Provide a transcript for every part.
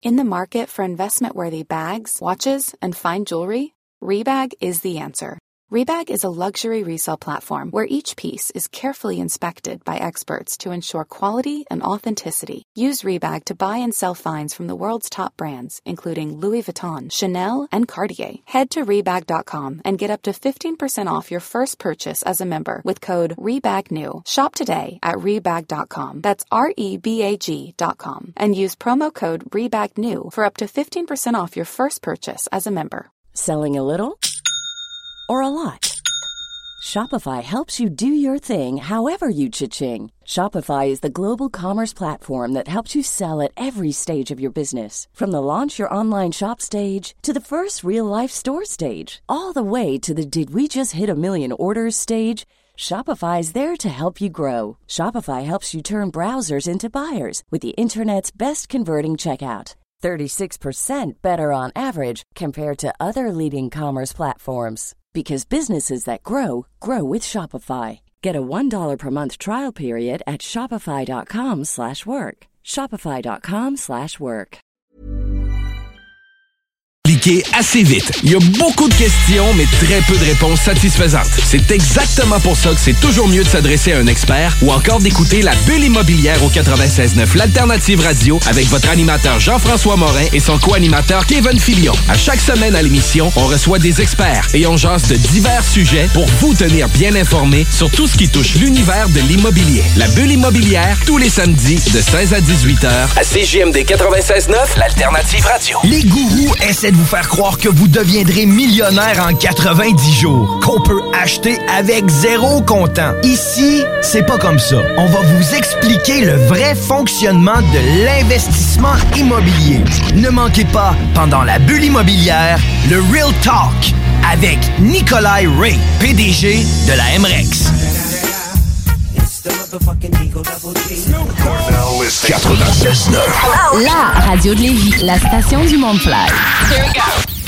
In the market for investment-worthy bags, watches, and fine jewelry, Rebag is the answer. Rebag is a luxury resale platform where each piece is carefully inspected by experts to ensure quality and authenticity. Use Rebag to buy and sell finds from the world's top brands, including Louis Vuitton, Chanel, and Cartier. Head to Rebag.com and get up to 15% off your first purchase as a member with code REBAGNEW. Shop today at Rebag.com. That's REBAG.com. And use promo code REBAGNEW for up to 15% off your first purchase as a member. Selling a little or a lot? Shopify helps you do your thing however you cha-ching. Shopify is the global commerce platform that helps you sell at every stage of your business. From the launch your online shop stage to the first real-life store stage, all the way to the did we just hit a million orders stage. Shopify is there to help you grow. Shopify helps you turn browsers into buyers with the internet's best converting checkout. 36% better on average compared to other leading commerce platforms. Because businesses that grow, grow with Shopify. Get a $1 per month trial period at shopify.com/work. Shopify.com/work. Cliquez assez vite. Il y a beaucoup de questions, mais très peu de réponses satisfaisantes. C'est exactement pour ça que c'est toujours mieux de s'adresser à un expert ou encore d'écouter la Bulle immobilière au 96.9, l'Alternative Radio, avec votre animateur Jean-François Morin et son co-animateur Kevin Filion. À chaque semaine à l'émission, on reçoit des experts et on jase de divers sujets pour vous tenir bien informés sur tout ce qui touche l'univers de l'immobilier. La Bulle immobilière, tous les samedis de 16 à 18 heures à CJMD 96.9, l'Alternative Radio. Les gourous essaient de vous faire croire que vous deviendrez millionnaire en 90 jours, qu'on peut acheter avec zéro comptant. Ici, c'est pas comme ça. On va vous expliquer le vrai fonctionnement de l'investissement immobilier. Ne manquez pas, pendant la Bulle immobilière, le Real Talk avec Nikolai Ray, PDG de la MREX. 96.9. La radio de Lévis, la station du Mont-Fly. Here we go.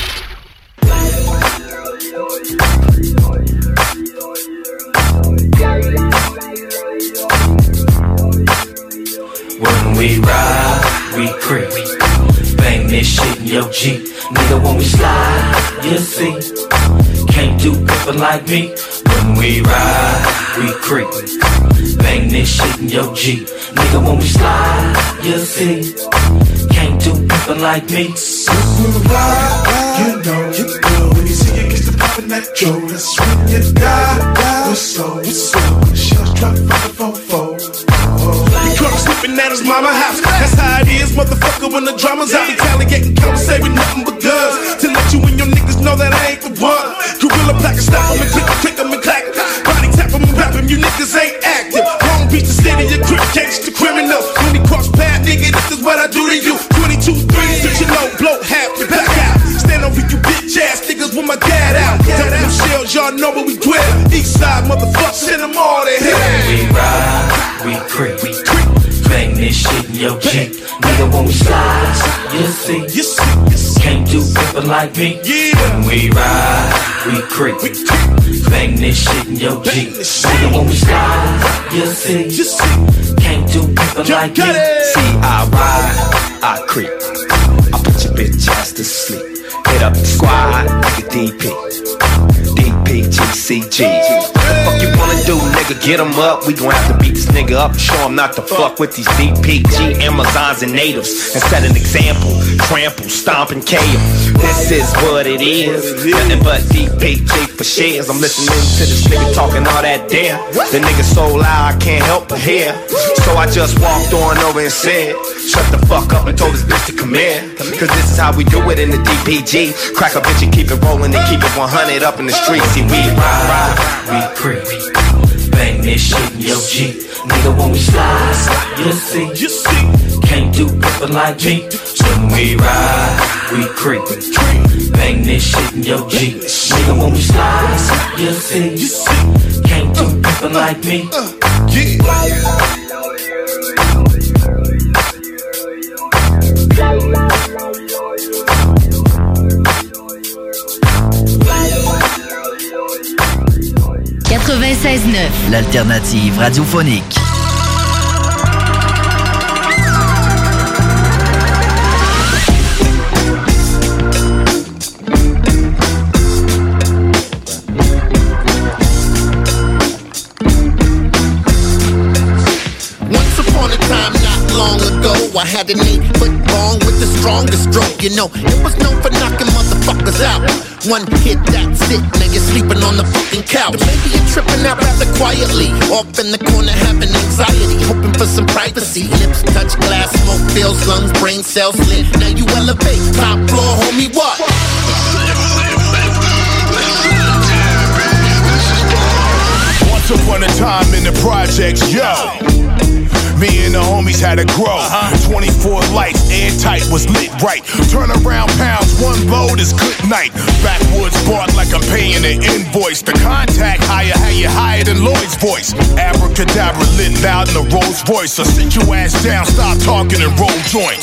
When we ride, we creep. Bang this shit in your Jeep. Nigga, when we slide, you see. Can't do people like me. When we ride, we creep. Bang this shit in your Jeep. Nigga, when we slide, you see. Can't do people like me. When we ride, you know. When you see it, gets the poppin' that Joe. That's when you die. What's so? When the shells drop from the fofo. You caught sleeping at his mama house. That's how it is, motherfucker, when the drama's out. Retaliating, conversating, nothing but guns. To let you and your niggas know that I ain't the one. Gorilla Black and stop him and click him and clack him. Body tap him and rap him, you niggas ain't active. Long Beach, the city, your grip catch the criminal. When he cross path, nigga, this is what I do to you. 22 threes, that you know, blow half the back out. Stand over you bitch ass niggas with my dad out. Tell them shells, y'all know where we dwell. East side, motherfuckers, send them all to hell. We ride, we creep. Bang this shit in your Jeep. Nigga, when we slide, you see. Can't do people like me. When we ride, we creep. Bang this shit in your Jeep. Nigga, when we slide, you see. Can't do people like me. See, I ride, I creep. I put your bitch ass to sleep. Hit up the squad, nigga DP. DPGCG. What the fuck you wanna do, nigga? Get him up. We gon' have to beat this nigga up and show him not to fuck with these DPG Amazons and natives. And set an example. Trample, stomp, and KO. This is what it is. Nothing but DPG for shares. I'm listening to this nigga talking all that damn. The nigga so loud I can't help but hear. So I just walked on over and said, shut the fuck up and told this bitch to come in. Cause this is how we do it in the DPG. Crack a bitch and keep it rolling and keep it 100 up in the street. See, we ride, we creep. Bang this shit in your Jeep. Nigga, when we slide, you see. Can't do people like me. When we ride, we creep. Bang this shit in your Jeep. Nigga, when we slide, you see. Can't do people like me. L'alternative radiophonique. had an 8-foot bong with the strongest stroke. You know, it was known for knocking motherfuckers out. One hit, that's it, now you're sleeping on the fucking couch. Or maybe you're tripping out rather quietly, off in the corner having anxiety, hoping for some privacy. Lips touch glass, smoke fills lungs, brain cells slit. Now you elevate, top floor, homie, what? Once upon a time in the projects, yo, me and the homies had to grow. 24 lights, airtight, was lit right. Turn around pounds, one load is good night. Backwoods bark like I'm paying an invoice. The contact higher, how you higher than Lloyd's voice. Abracadabra lit loud in the Rolls Royce. So sit your ass down, stop talking and roll joints.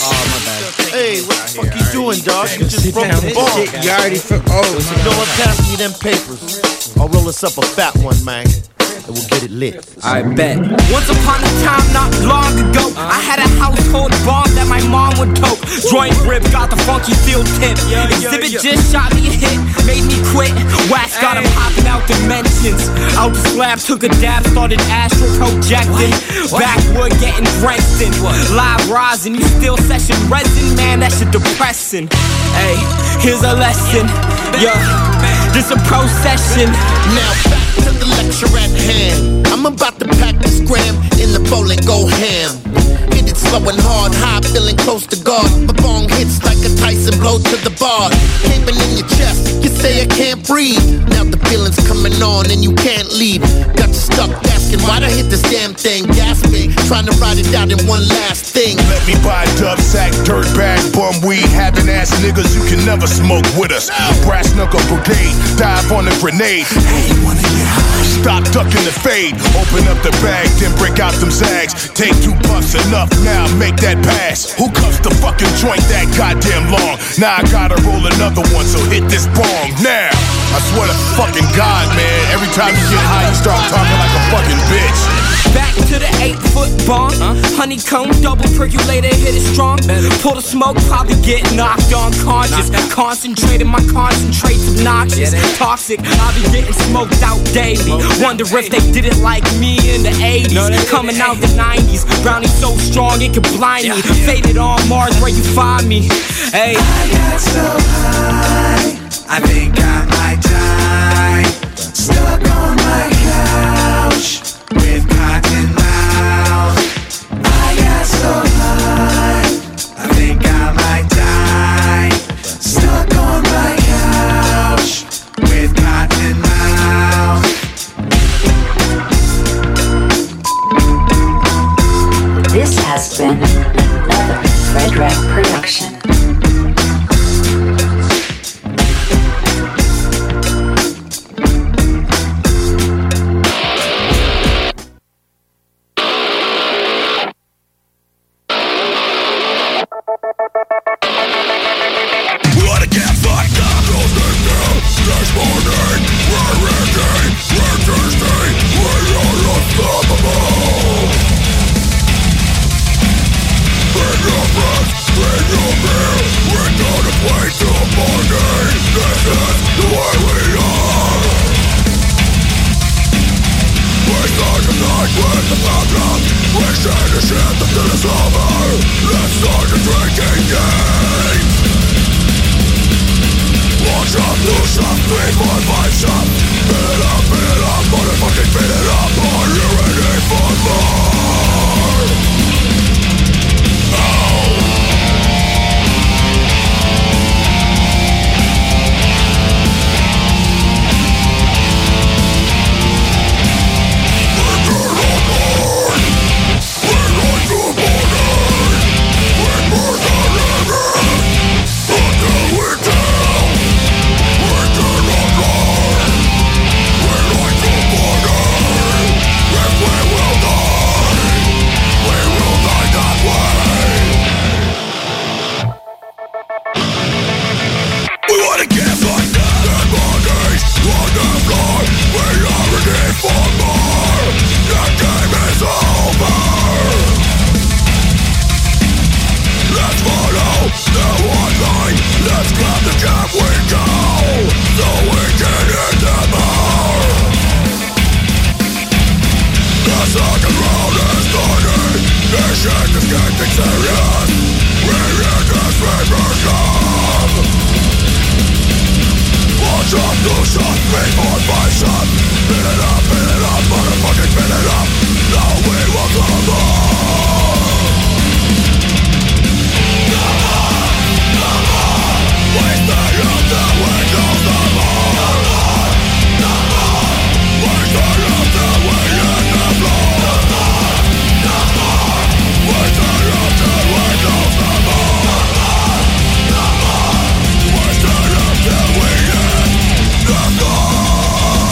Hey, what the fuck you doing, dog? You just broke the ball. You already you know what? Pass me them papers. I'll roll us up a fat one, man. And we'll get it lit. I bet. Once upon a time, not long ago, I had a household bomb that my mom would tote. Joint grip, got the funky field tip. Exhibit just shot me a hit, made me quit. Wax got him hopping out dimensions. Out the slab, took a dab, started astral projecting. Backwood getting drenched in. Live rising, you still session resin, man, that shit depressing. Hey, here's a lesson. Yo, this a procession. Now back to the lecture at hand. I'm about to pack this gram in the bowl and go ham. Hit it slow and hard, high, feeling close to God. My bong hits like a Tyson blow to the bar. Caving in your chest, you say I can't breathe. Now the feeling's coming on and you can't leave. Got you stuck asking why'd I hit this damn thing? Gasping, trying to ride it out in one last thing. Let me buy a dub sack, dirt bag, bum weed, having ass niggas you can never smoke with us. Brass knuckle brigade, dive on a grenade. Hey, you wanna get high? Stop ducking the fade. Open up the bag, then break out them zags. Take 2 puffs, enough now, make that pass. Who cuffs the fucking joint that goddamn long? Now I gotta roll another one, so hit this bong now. I swear to fucking God, man, every time you get high, you start talking like a fucking bitch. Back to the 8-foot bomb. Honeycomb, double percolator, hit it strong. Pull the smoke, probably get knocked unconscious. Concentrated, my concentrate's obnoxious. Toxic, I'll be getting smoked out daily. Wonder if they did it like me in the 80s. Coming out the 90s, brownie so strong it could blind me. Faded on Mars where you find me. Hey, I got so high, I think I might die. Stuck on my couch with cotton mouth. I got so high, I think I might die. Stuck on my couch with cotton mouth. This has been another Fred Rack production. We're We're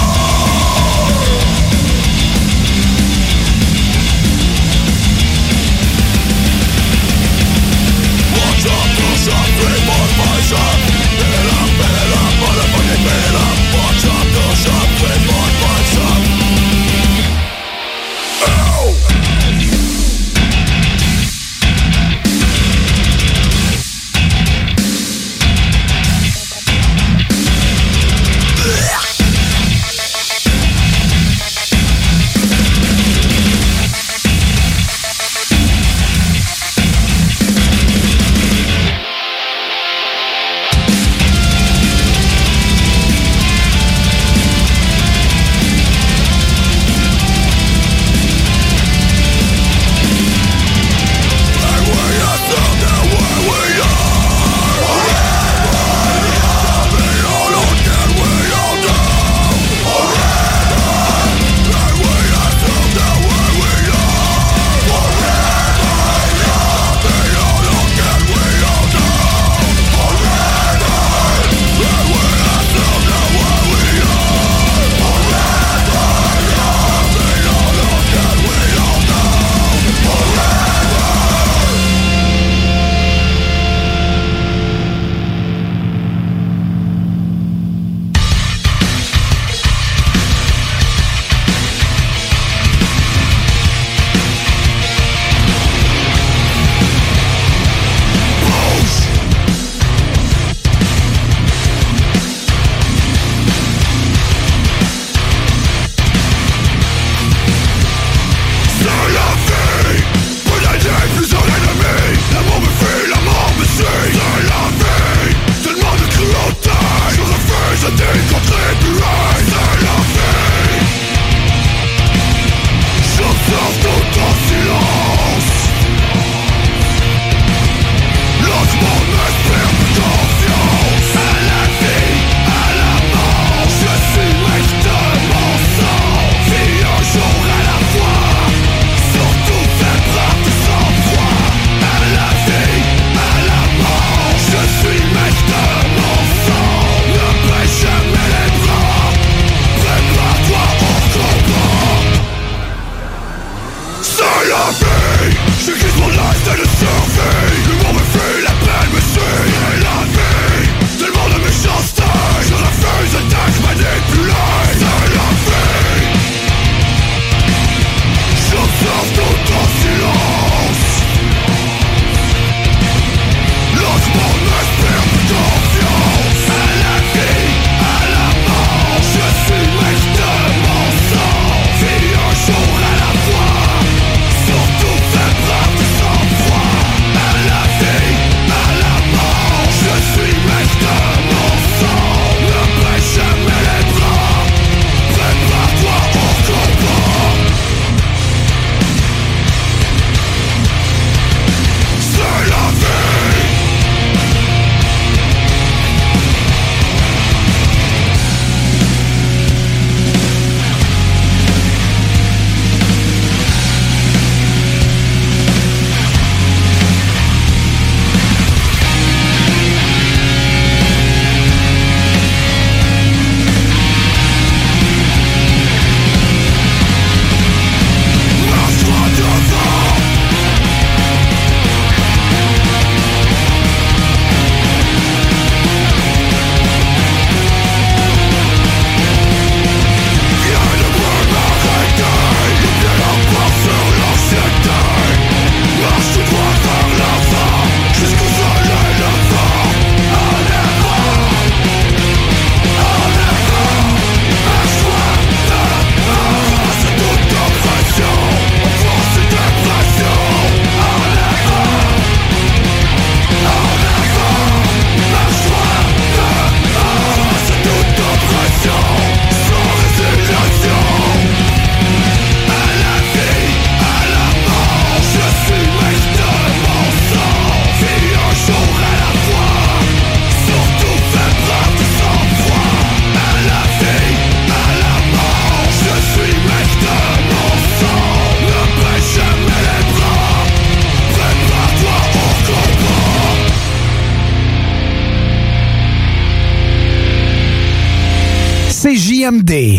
CJMD.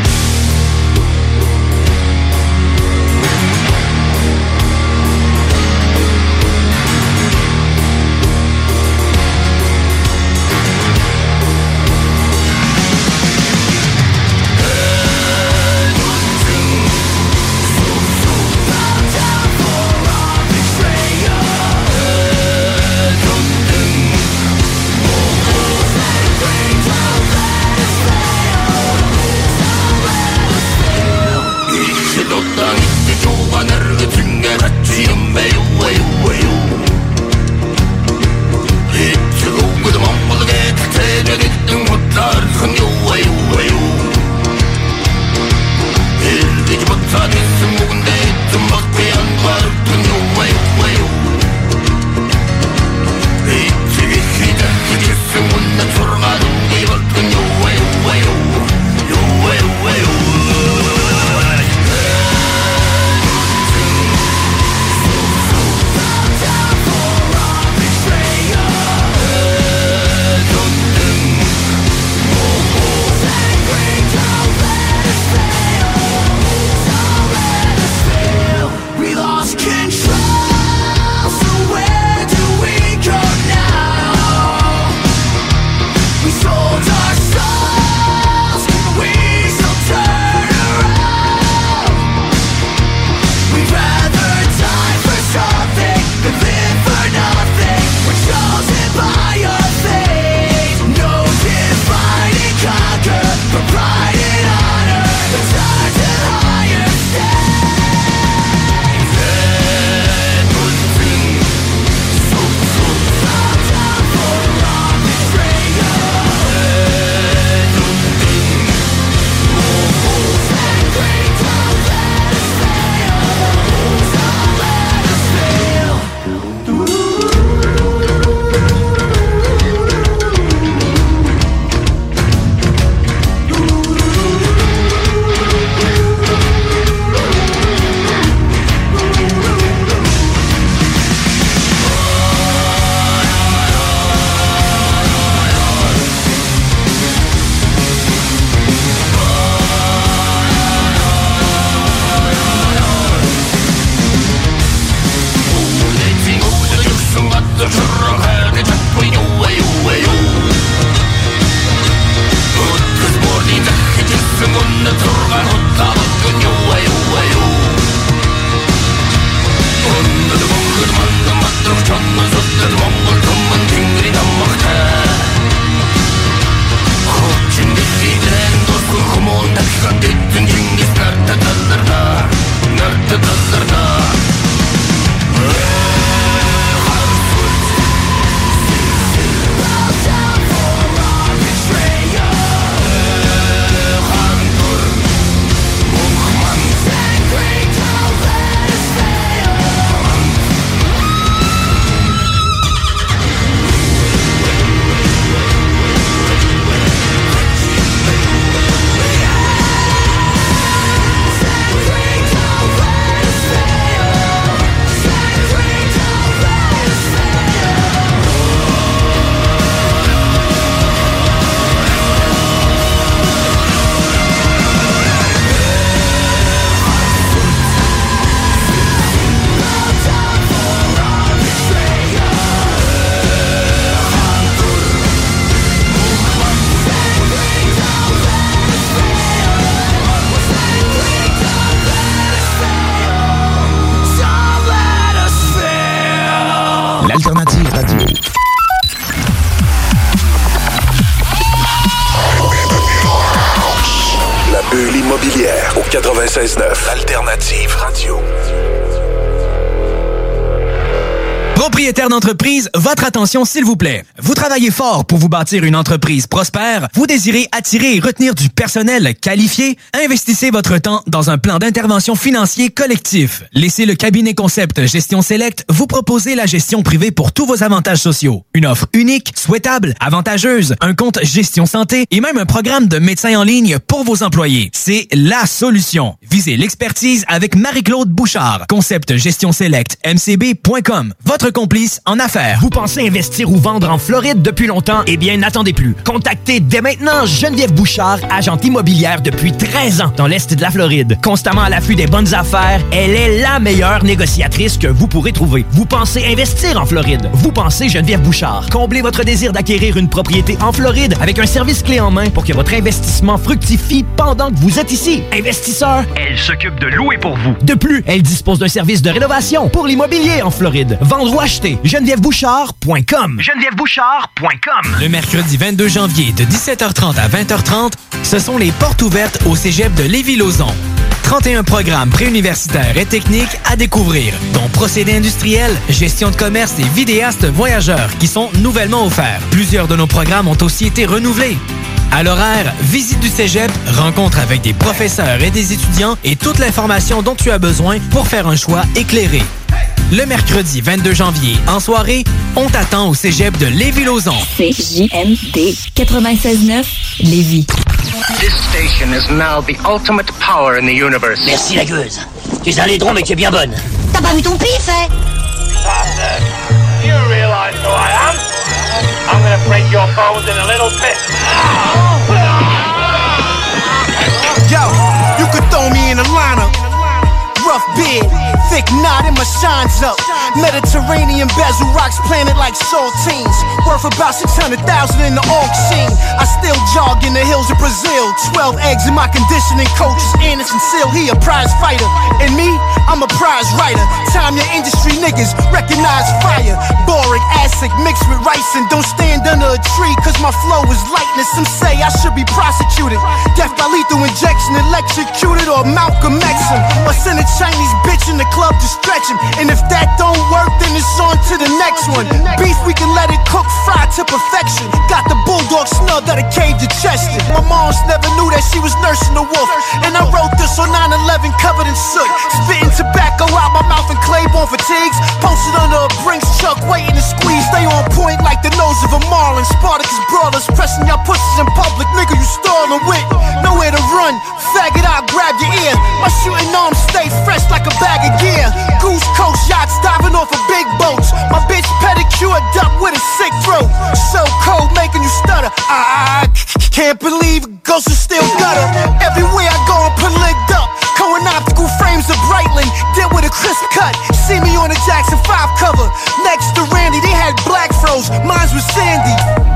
L'Alternative Radio. La bulle immobilière au 96.9. L'Alternative Radio. Propriétaire d'entreprise, votre attention s'il vous plaît. Vous travaillez fort pour vous bâtir une entreprise prospère, vous désirez attirer et retenir du personnel qualifié, investissez votre temps dans un plan d'intervention financier collectif. Laissez le cabinet Concept Gestion Select vous proposer la gestion privée pour tous vos avantages sociaux. Une offre unique, souhaitable, avantageuse, un compte gestion santé et même un programme de médecin en ligne pour vos employés. C'est la solution. Visez l'expertise avec Marie-Claude Bouchard. Concept gestion select mcb.com. Votre complice en affaires. Vous pensez investir ou vendre en Floride depuis longtemps? Eh bien, n'attendez plus. Contactez dès maintenant Geneviève Bouchard, agente immobilière depuis 13 ans dans l'Est de la Floride. Constamment à l'affût des bonnes affaires, elle est la meilleure négociatrice que vous pourrez trouver. Vous pensez investir en Floride? Vous pensez Geneviève Bouchard. Comblez votre désir d'acquérir une propriété en Floride avec un service clé en main pour que votre investissement fructifie pendant que vous êtes ici. Investisseur, elle s'occupe de louer pour vous. De plus, elle dispose d'un service de rénovation pour l'immobilier en Floride. Vendre ou acheter, GenevièveBouchard.com. GenevièveBouchard.com. Le mercredi 22 janvier de 17h30 à 20h30, ce sont les portes ouvertes au cégep de Lévis-Lauzon. 31 programmes préuniversitaires et techniques à découvrir, dont procédés industriels, gestion de commerce et vidéastes voyageurs qui sont nouvellement offerts. Plusieurs de nos programmes ont aussi été renouvelés. À l'horaire, visite du cégep, rencontre avec des professeurs et des étudiants et toute l'information dont tu as besoin pour faire un choix éclairé. Le mercredi 22 janvier, en soirée, on t'attend au cégep de Lévis-Lauzon. CJMD 96.9 Lévis. This station is now the ultimate power in the universe. Merci la gueuse. Tu es un laidron mais tu es bien bonne. T'as pas vu ton pif, hein? Do you realize who I am? I'm gonna break your bones in a little bit. Yo, you could throw me in a lineup. Rough beard, thick knot and my shines up. Mediterranean bezel rocks planted like saltines. Worth about 600,000 in the auction. I still jog in the hills of Brazil. 12 eggs in my conditioning coach is Anderson Seal. He a prize fighter. And me, I'm a prize writer. Time your industry niggas recognize fire. Boric acid mixed with rice and don't stand under a tree cause my flow is lightness. Some say I should be prosecuted. Death by lethal injection, electrocuted or Malcolm X him. Or send a Chinese bitch in the club to stretch him. And if that don't work, then it's on to the next one. Beef, we can let it cook, fry to perfection. Got the bulldog snub that a cave to Chester. My mom's never knew that she was nursing a wolf. And I wrote this on 9/11 covered in soot. Spitting tobacco out my mouth and Claiborne fatigues. Posted under a Brinks truck, waiting to squeeze. Stay on point like the nose of a marlin. Spartacus brawlers pressing your pussies in public. Nigga, you stalling with nowhere to run. Faggot, I'll grab your ear. My shooting arms stay fresh like a bag of gear. Goose Coast yachts diving off of big boats. My bitch pedicured up with a sick throat. So cold, making you stutter. I can't believe ghosts are still gutter. Everywhere I go, I'm put licked up. Cohen optical frames of Breitling, did with a crisp cut. See me on the Jackson 5 cover. Next to Randy, they had black froze. Mine's was Sandy.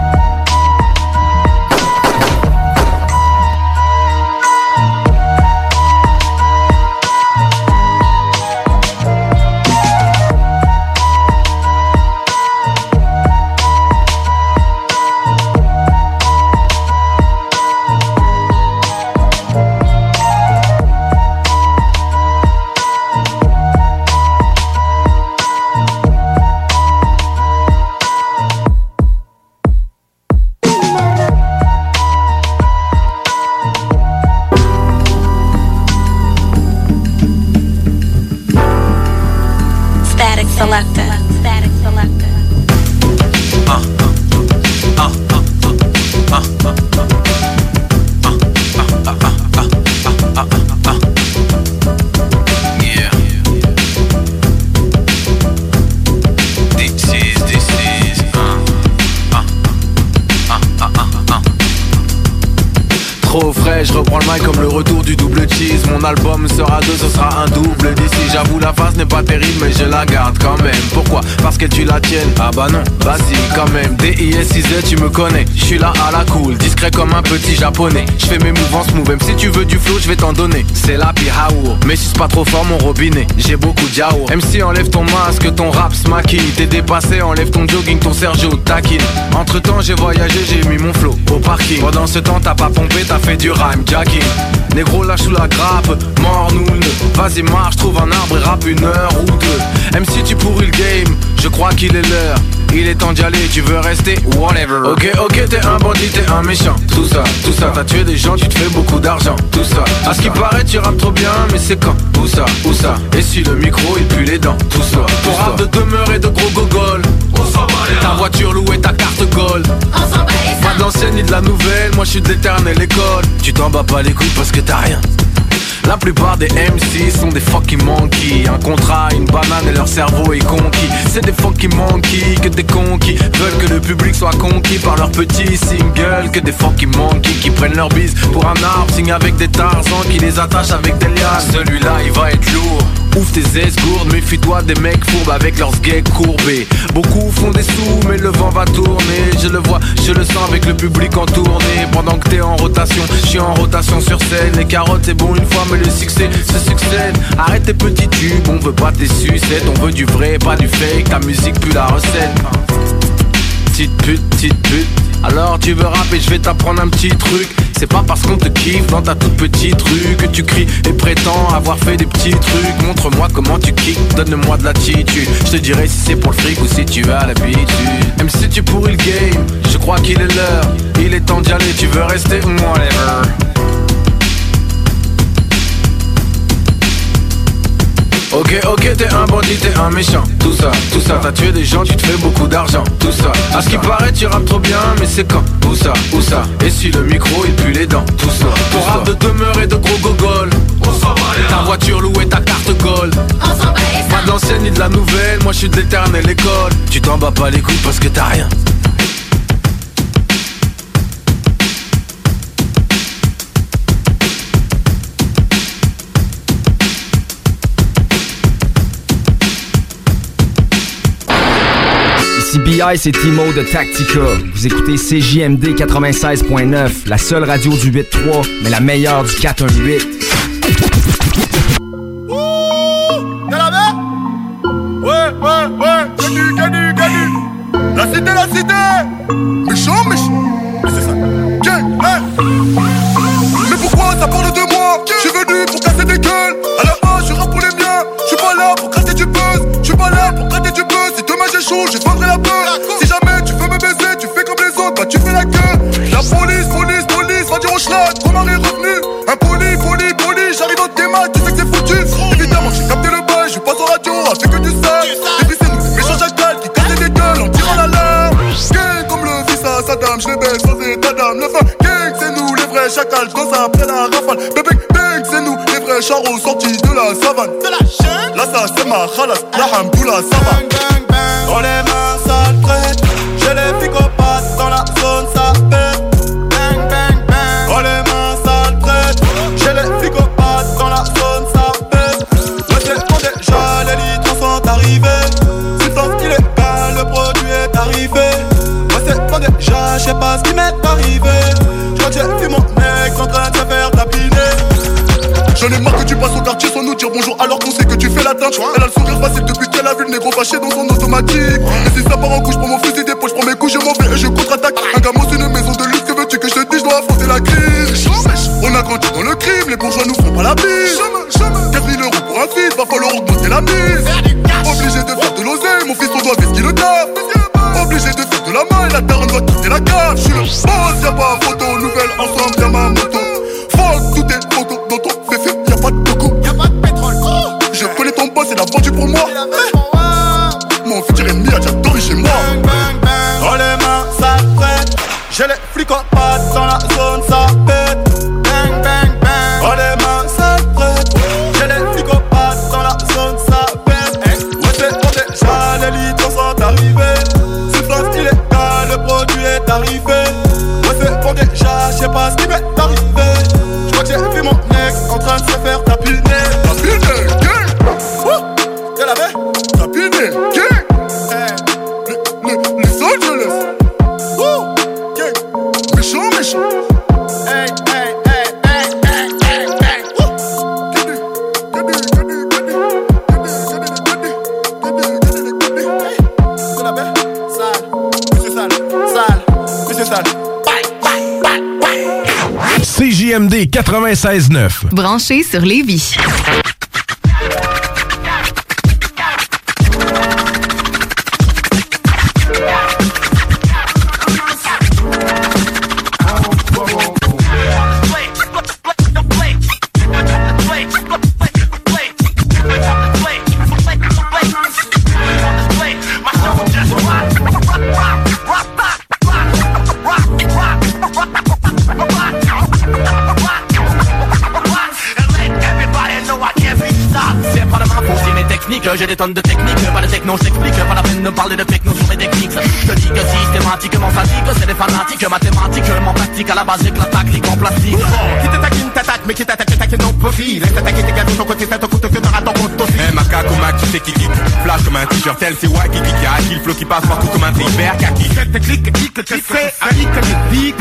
Je reprends le mic comme le retour du double cheese. Mon album sera 2, ce sera un double d'ici. J'avoue la face n'est pas terrible mais je la garde quand même. Pourquoi? Parce que tu la tiennes. Ah bah non, vas-y quand même. DISIZ tu me connais. Je suis là à la cool, discret comme un petit japonais. Je fais mes mouvements smooth, même si tu veux du flow je vais t'en donner. C'est la pihaour, mais si c'est pas trop fort mon robinet. J'ai beaucoup de yaourt. MC enlève ton masque, ton rap se maquille. T'es dépassé, enlève ton jogging, ton Sergio taquine. Entre temps j'ai voyagé, j'ai mis mon flow au parking. Pendant ce temps t'as pas pompé, t'as fait du rhyme jacking. Négro lâche sous la grappe, mort nous ne. Vas-y marche, trouve un arbre et rappe 1 heure ou 2. MC tu pourris le game, je crois qu'il est l'heure. Il est temps d'y aller, tu veux rester, whatever. Ok, t'es un bandit, t'es un méchant. Tout ça, t'as tué des gens, tu te fais beaucoup d'argent. Tout ça, à ce qui paraît tu rappes trop bien, mais c'est quand? Où ça? Et si le micro il pue les dents? Tout ça, pour rap de demeure et de gros gogol. Ta voiture louée, ta carte gold. Pas de l'ancienne ni de la nouvelle, moi je suis de l'éternelle école. Tu t'en bats pas les couilles parce que t'as rien. La plupart des MC sont des fucking monkeys. Un contrat, une banane et leur cerveau est conquis. C'est des fucking monkeys, que des conquis veulent que le public soit conquis par leurs petits singles. Que des fucking monkeys qui prennent leur bise pour un arbre, signent avec des tarzans qui les attachent avec des lianes. Celui-là il va être lourd. Ouvre tes esgourdes, méfie-toi des mecs fourbes avec leurs gays courbés. Beaucoup font des sous mais le vent va tourner. Je le vois, je le sens avec le public en tournée. Pendant que t'es en rotation, je suis en rotation sur scène. Les carottes c'est bon une fois mais le succès se succède. Arrête tes petits tubes, on veut pas tes sucettes. On veut du vrai, pas du fake, ta musique pue la recette. Petite pute, alors tu veux rapper, je vais t'apprendre un petit truc. C'est pas parce qu'on te kiffe dans ta toute petite rue que tu cries et prétends avoir fait des petits trucs. Montre-moi comment tu kicks, donne-moi de l'attitude. Je te dirai si c'est pour le fric ou si tu as l'habitude. Même si tu pourris le game, je crois qu'il est l'heure. Il est temps d'y aller, tu veux rester ou whatever. Ok, t'es un bandit, t'es un méchant. Tout ça, t'as tué des gens, tu te fais beaucoup d'argent. Tout ça, à ce qui paraît, tu rappes trop bien, mais c'est quand? Où ça? Et si le micro, il pue les dents. Tout ça, ton rap de demeure et de gros gogol. Ta voiture louée, ta carte gold. Pas de l'ancienne ni de la nouvelle, moi je suis de l'éternelle école. Tu t'en bats pas les couilles parce que t'as rien. BI, c'est Timo de Tactica. Vous écoutez CJMD 96.9, la seule radio du 8-3, mais la meilleure du 4-1-8. Gadu. La cité. Méchant. Mais c'est ça. Mais pourquoi ça parle de moi? J'suis venu pour casser des gueules. À la base, je rappe pour les miens. J'suis pas là pour gratter du buzz. J'suis pas là pour gratter du buzz. Si demain j'ai chaud, je vendrai la peur. Si jamais tu veux me baiser, tu fais comme les autres, bah tu fais la queue. La police, va dire au schlag, ton mari est revenu. Impoli, j'arrive dans tes mains, tu sais que c'est foutu. Évidemment, j'ai capté le bail, je passe en radio, avec que du sale. Débrissez-nous, ces méchants jacals qui cassaient des gueules en tirant l'alarme. Gang comme le fils à Saddam, je les baisse sans état d'âme. Le fin, gang, c'est nous les vrais chacals, j'danse après la rafale. Bébé, bang, c'est nous les vrais charros sortis de la savane. C'est la chaîne, là ça c'est ma khalas, la hamdoula, ça va. Dans les mains, ça le traite. J'ai les psychopathes dans la zone, ça pète. Bang, bang, bang. Dans les mains, ça le traite. J'ai les psychopathes dans la zone, ça pète. Ouais, c'est bon déjà, les litres sont arrivés. Substance illégale, le produit est arrivé. Ouais, c'est bon déjà, j'sais pas ce qui m'est arrivé. J'crois que j'ai vu mon ex en train de se faire tapiner. J'en ai marre que tu passes au quartier sans nous dire bonjour alors qu'on sait que tu fais la teinte. Elle a le sourire facile depuis qu'elle a vu le négro fâché dans son automatique. Et si ça part en couche, je prends mon fusil d'épaule, je prends mes coups, je m'en vais et je contre-attaque. Un gamin c'est une maison de luxe, que veux-tu que je te dise, je dois affronter la crise. On a grandi dans le crime, les bourgeois nous font pas la bise. 4 000 € pour un fils, va falloir augmenter la mise. Obligé de faire de l'oseille, mon fils on doit vestir le taf. Obligé de faire de la main et la daronne doit quitter la cave. J'suis le boss, y'a pas photo, nouvelle ensemble, y'a ma moto. Fuck, tout est photo dans ton féfé, y'a pas de coco. Y'a pas de pétrole. Je connais ton boss, il a vendu pour moi. Mon futur ennemi a déjà dormi chez moi. Bang, bang, bang. Dans les mains, ça prête. J'ai les flicopates dans la zone, ça pète. Bang, bang, bang. Dans les mains, ça prête. J'ai les flicopates dans la zone, ça pète. Ouais, c'est bon déjà, les litres sont arrivés. Substance illégale, le produit est arrivé. Ouais, c'est bon déjà, j'sais pas ce qui m'est arrivé. J'crois que j'ai vu mon ex en train de se faire tapiner. Tapiner, gang. T'es la baie? Tapiner, gang. Les Angeles. Gang. Méchant. Hey. C'est la baie? Sale. Monsieur Sale. CJMD 96.9. Branché sur Lévis. Let j'ai des tonnes de techniques, pas de techno, je t'explique, pas la peine de parler de techno sur mes techniques. Je te dis que systématiquement fatigue, c'est des fanatiques, mathématiquement pratique à la base avec la tactique en plastique. Qui t'attaque, t'attaque, mais qui t'attaque, non profil. Laisse t'attaquer tes gars de ton côté, ça te coûte que t'auras ton compte aussi. Un macaque au Mac, tu sais qui kick, flash comme un t-shirt, tel c'est wacky qui a le flow qui passe partout comme un tripère kaki. Cette clique, clique, tu sais, clique, clique,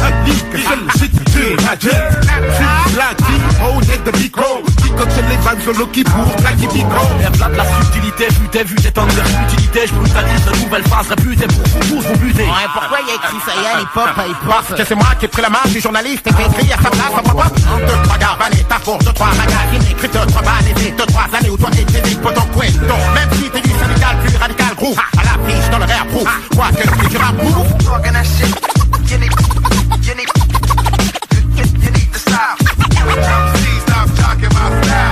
les vannes sur le qui pour claquer micro. Là de la subtilité, vu tes temps de futilité, je brutalise de nouvelles phases réputées pour vous buter. Ouais, pourquoi il y a écrit ça y est, hip-hop, parce que c'est moi qui ai pris la main du journaliste et qui ai écrit à sa place, à moi, 2-3 garbanes, t'as pour 2-3 magazines, écrit 2-3 balles, et 2-3 années où toi t'es physique, pour ton coin. Donc, même si t'es du syndical, plus radical, gros, à l'affiche, dans le rare proof, quoi que c'est du rap proof. Talking that shit, you need the style. Please stop talking about style.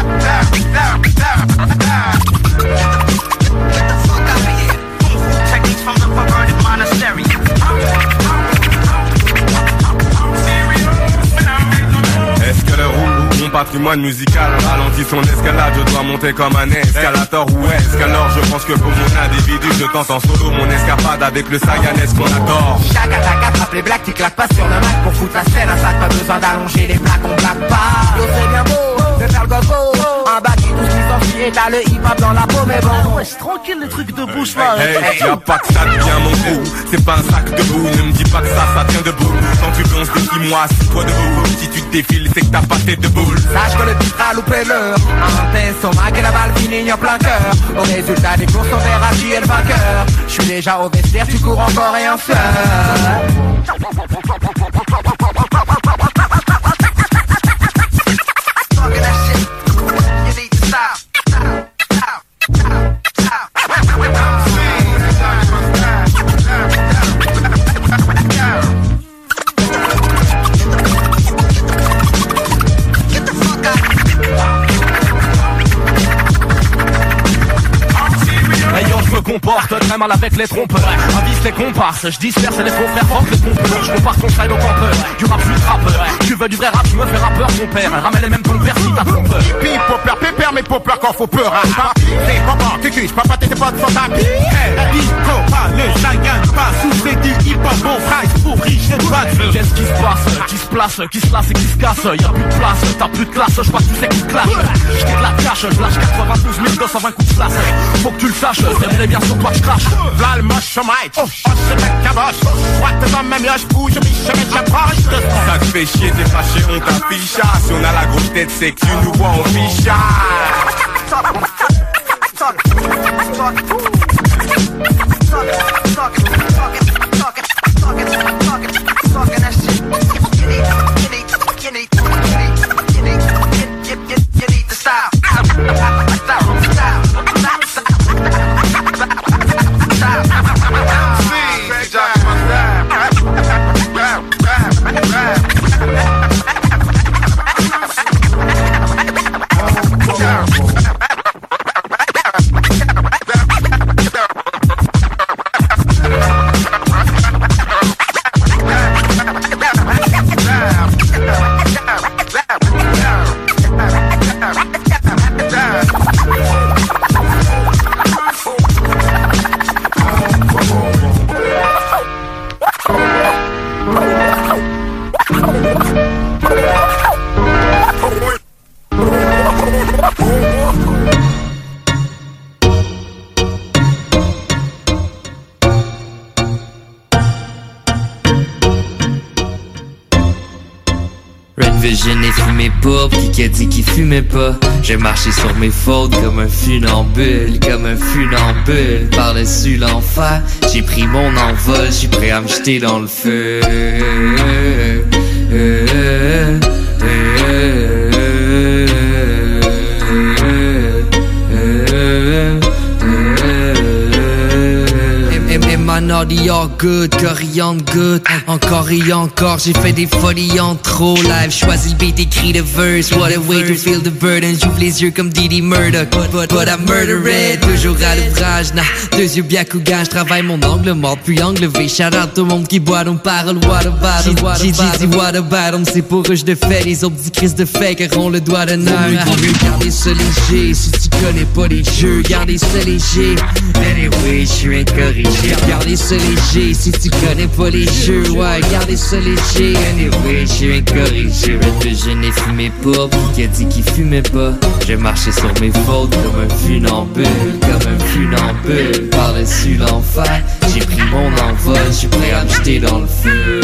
Get the fuck out of here. Techniques from the perverted monastery. Est-ce que le roux, mon patrimoine musical ralentit son escalade, je dois monter comme un escalator ou est-ce qu'alors je pense que pour mon individu je tente en solo mon escapade avec le Sayanès qu'on a tort. Chaque attaque attrape les blagues qui claquent pas sur le mic pour foutre la scène, un sac, pas besoin d'allonger les plaques, on blague pas. Yo c'est bien beau, de faire le gogo, un bac et tout ce qui s'enfuit et t'as le hip-hop dans la peau mais bon. Ouais c'est tranquille les trucs de bouche là. Hey, y'a pas que ça devient mon trou, c'est pas un sac de boue, ne me dis pas que ça tient debout. Quand tu danses des 6 mois, assis-toi debout, si tu te défiles c'est que t'as pas tête de boule. Sache que le titre a loupé l'heure, un pinceau et la balle finit en plein cœur. Au résultat des courses on verra qui est le vainqueur. J'suis déjà au vestiaire, tu cours encore et un seul. Comporte très mal avec les trompeurs, avise les comparses, je disperse les faux frères forts les trompeurs. Je compare ton style au campeur, du rap plus rappeur. Tu veux du vrai rap, tu me fais rappeur mon père. Ramène les mêmes ton père si t'as trompeur. Hippie, popper, pépère, mais popper quand faut peur. C'est papa, tu cuisses, papa t'es pas de son tapis. Disco, pas le Sagan, pas sous les dit hip-hop, bon price pour riche et bad. Qu'est-ce qui se passe, qui se place, qui se lasse et qui se casse. Y'a plus de place, t'as plus de classe, je crois que tu sais qui se clash. J't'ai de la cash, je lâche 92 220 coups de slash. Faut que tu le saches, c'est bien sur toi que je crache. V'là le moche au mic, oh c'est mec caboche. Moi t'es dans ma mioche, bouge, j'approche. Ça te fait chier, t'es fâché, on t'affiche. Si on a la grosse tête, c'est que tu nous vois en ficha. Je n'ai fumé pas, pis qui a dit qu'il fumait pas. J'ai marché sur mes fautes comme un funambule, par-dessus l'enfer, j'ai pris mon envol, j'suis prêt à me jeter dans le feu. naughty or good, coriandre good. Encore et encore, j'ai fait des folies en trop. Live, choisis le beat, écrit le verse. What a way to feel the burden. J'ouvre les yeux comme Didi Murdoch. But I murder it. Toujours à l'ouvrage, nah. Deux yeux bien cougan, j'travaille mon angle mort puis angle V. Shout out tout le monde qui boit, on parle. What about them? J'ai dit what about them? C'est pour eux je de fais. Les autres petits crises de fake auront le doigt d'honneur. Gardez ça léger. Si tu connais pas les jeux, gardez ça léger. Anyway, je suis incorrigé. Gardez ça léger. Si tu connais pas les jeux, ouais, gardez ça léger. Anyway, je suis incorrigé. Je n'ai fumé pas. Qui a dit qu'il fumait pas? Je marchais sur mes fautes comme un funambule. Comme un funambule. Par-dessus l'enfer, j'ai pris mon envol. Je suis prêt à me jeter dans le feu.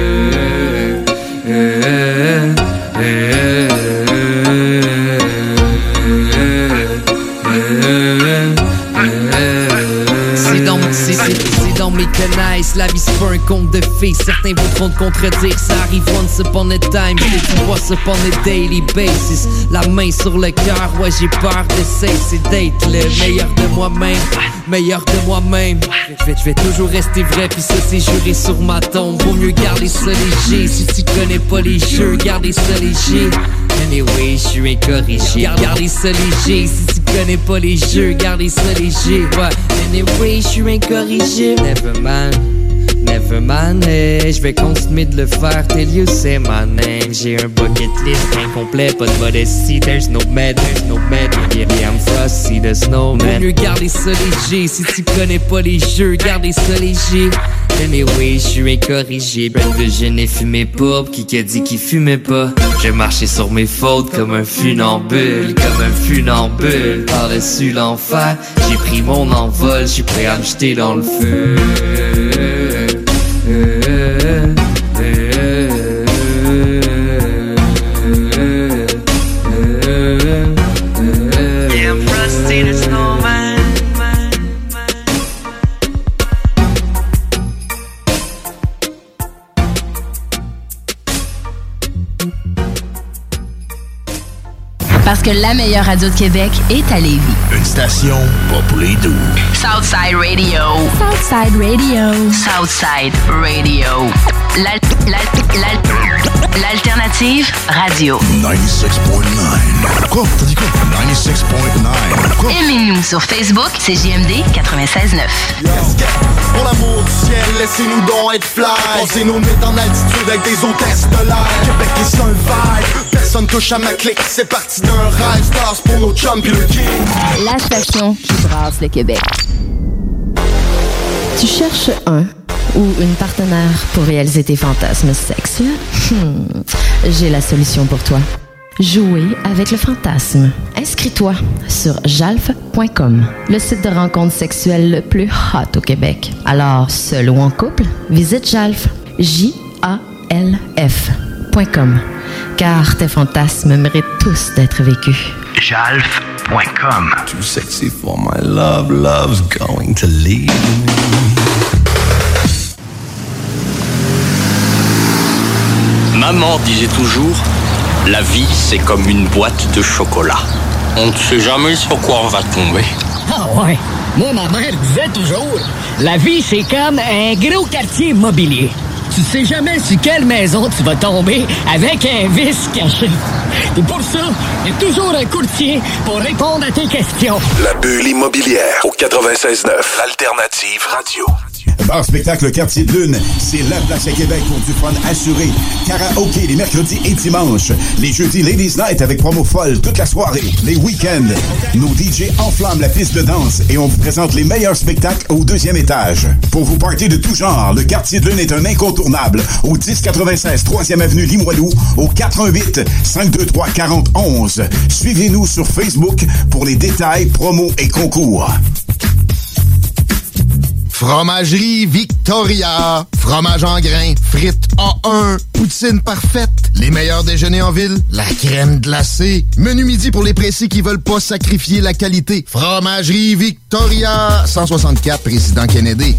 C'est dans mes connaisses, la vie c'est pas un conte de fées. Certains voudront te contredire, ça arrive once upon a time. C'est tout once upon a daily basis. La main sur le cœur, ouais j'ai peur d'essayer d'être le meilleur de moi-même. Meilleur de moi-même. Je vais toujours rester vrai, puis ça c'est juré sur ma tombe. Vaut mieux garder ça léger. Si tu connais pas les jeux, gardez ça léger. Anyway, je suis incorrigé. Gardez ça léger. Si tu connais pas les jeux, gardez ça léger. Ouais. Anyway, je suis incorrigé. Never mind. Never mind, je vais continuer de le faire till you say my name. J'ai un bucket list incomplet, pas de modestie. There's no med, yeah, I'm frosty, the snowman. Vaut mieux garder ça léger, si tu connais pas les jeux, gardez ça léger. Anyway, je suis incorrigé. Je n'ai fumé pas, qui a dit qu'il fumait pas? J'ai marché sur mes fautes comme un funambule. Comme un funambule, par-dessus l'enfer. J'ai pris mon envol, je suis prêt à me jeter dans le feu. Parce que la meilleure radio de Québec est à Lévis. Une station pas pour les doux. Southside Radio. Southside Radio. Southside Radio. L'alternative radio. 96.9. Quoi? T'as dit quoi? 96.9. Aimez-nous sur Facebook, c'est JMD 96.9. Pour l'amour du ciel, laissez-nous donc être fly. Posez nos mythes en altitude avec des hôtesses de l'air. Québec est un vibe. Personne touche à ma clique. C'est parti d'un rêve. Stars pour nos chums pis le king. La station qui brasse le Québec. Tu cherches un ou une partenaire pour réaliser tes fantasmes sexuels? J'ai la solution pour toi. Jouer avec le fantasme. Inscris-toi sur jalf.com, le site de rencontre sexuelle le plus hot au Québec. Alors, seul ou en couple, visite Jalf, JALF.com, car tes fantasmes méritent tous d'être vécus. Jalf.com. Too sexy for my love, love's going to leave me. Maman disait toujours, la vie c'est comme une boîte de chocolat. On ne sait jamais sur quoi on va tomber. Ah ouais, moi ma mère disait toujours, la vie c'est comme un gros quartier immobilier. Tu sais jamais sur quelle maison tu vas tomber avec un vice caché. Et pour ça, il y a toujours un courtier pour répondre à tes questions. La bulle immobilière au 96.9, l'alternative radio. Bar spectacle Quartier de Lune, c'est la place à Québec pour du fun assuré. Karaoké les mercredis et dimanches. Les jeudis Ladies Night avec promo folle toute la soirée. Les week-ends, nos DJ enflamment la piste de danse et on vous présente les meilleurs spectacles au 2e étage. Pour vous partir de tout genre, le Quartier de Lune est un incontournable au 1096 3e avenue Limoilou au 418 523 4011. Suivez-nous sur Facebook pour les détails, promos et concours. Fromagerie Victoria. Fromage en grains, frites A1, poutine parfaite, les meilleurs déjeuners en ville, la crème glacée, menu midi pour les pressés qui veulent pas sacrifier la qualité. Fromagerie Victoria. 164 Président Kennedy.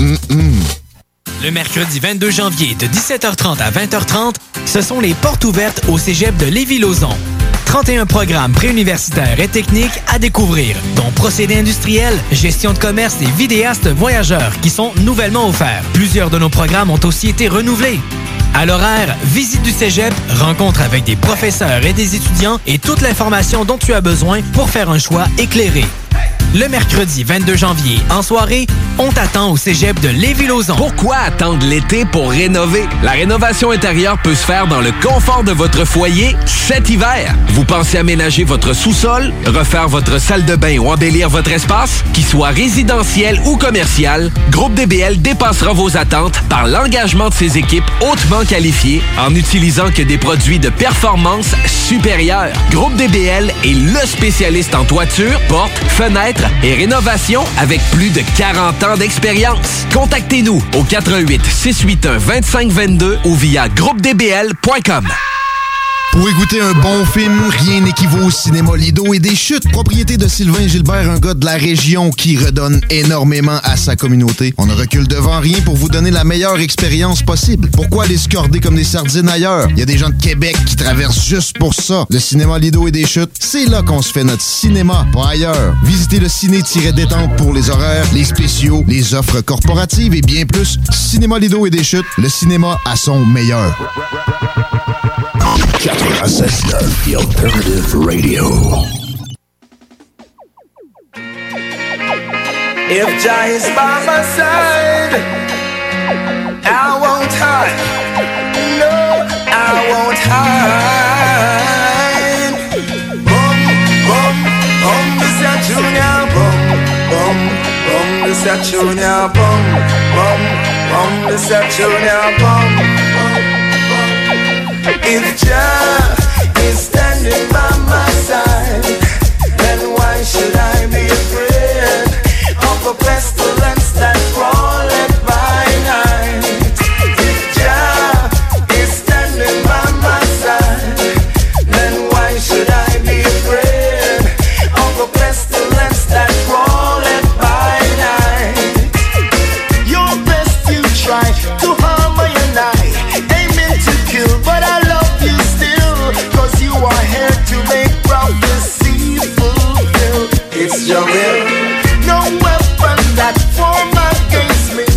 Le mercredi 22 janvier de 17h30 à 20h30, ce sont les portes ouvertes au cégep de Lévis-Lauzon. 31 programmes préuniversitaires et techniques à découvrir, dont procédés industriels, gestion de commerce et vidéastes voyageurs qui sont nouvellement offerts. Plusieurs de nos programmes ont aussi été renouvelés. À l'horaire, visite du cégep, rencontre avec des professeurs et des étudiants et toute l'information dont tu as besoin pour faire un choix éclairé. Le mercredi 22 janvier, en soirée, on t'attend au cégep de Lévis-Lauzon. Pourquoi attendre l'été pour rénover? La rénovation intérieure peut se faire dans le confort de votre foyer cet hiver. Vous pensez aménager votre sous-sol, refaire votre salle de bain ou embellir votre espace? Qu'il soit résidentiel ou commercial, Groupe DBL dépassera vos attentes par l'engagement de ses équipes hautement qualifiées en n'utilisant que des produits de performance supérieure. Groupe DBL est le spécialiste en toiture, portes, fenêtres et rénovation avec plus de 40 ans d'expérience. Contactez-nous au 88 681 2522 ou via groupedbl.com. Pour écouter un bon film, rien n'équivaut au cinéma Lido et des Chutes, propriété de Sylvain Gilbert, un gars de la région qui redonne énormément à sa communauté. On ne recule devant rien pour vous donner la meilleure expérience possible. Pourquoi aller se corder comme des sardines ailleurs? Il y a des gens de Québec qui traversent juste pour ça. Le cinéma Lido et des Chutes, c'est là qu'on se fait notre cinéma, pas ailleurs. Visitez le ciné-détente pour les horaires, les spéciaux, les offres corporatives et bien plus. Cinéma Lido et des Chutes, le cinéma à son meilleur. 96.9, The Alternative Radio. If Jah is by my side, I won't hide. No, I won't hide. Bum, bum, bum, this a junior. Bum, bum, bum, this a junior. Bum, bum, bum, this a junior. Bum, bum. If Jah is standing by my side, then why should I be afraid of a pestilence that crawleth by night? If Jah is standing by my side, then why should I be afraid of a pestilence that crawleth by night? Your best you try to harm my and I, aiming to kill, but I love you still, 'cause you are here to make prophecy fulfilled. It's your will. No weapon that form against me,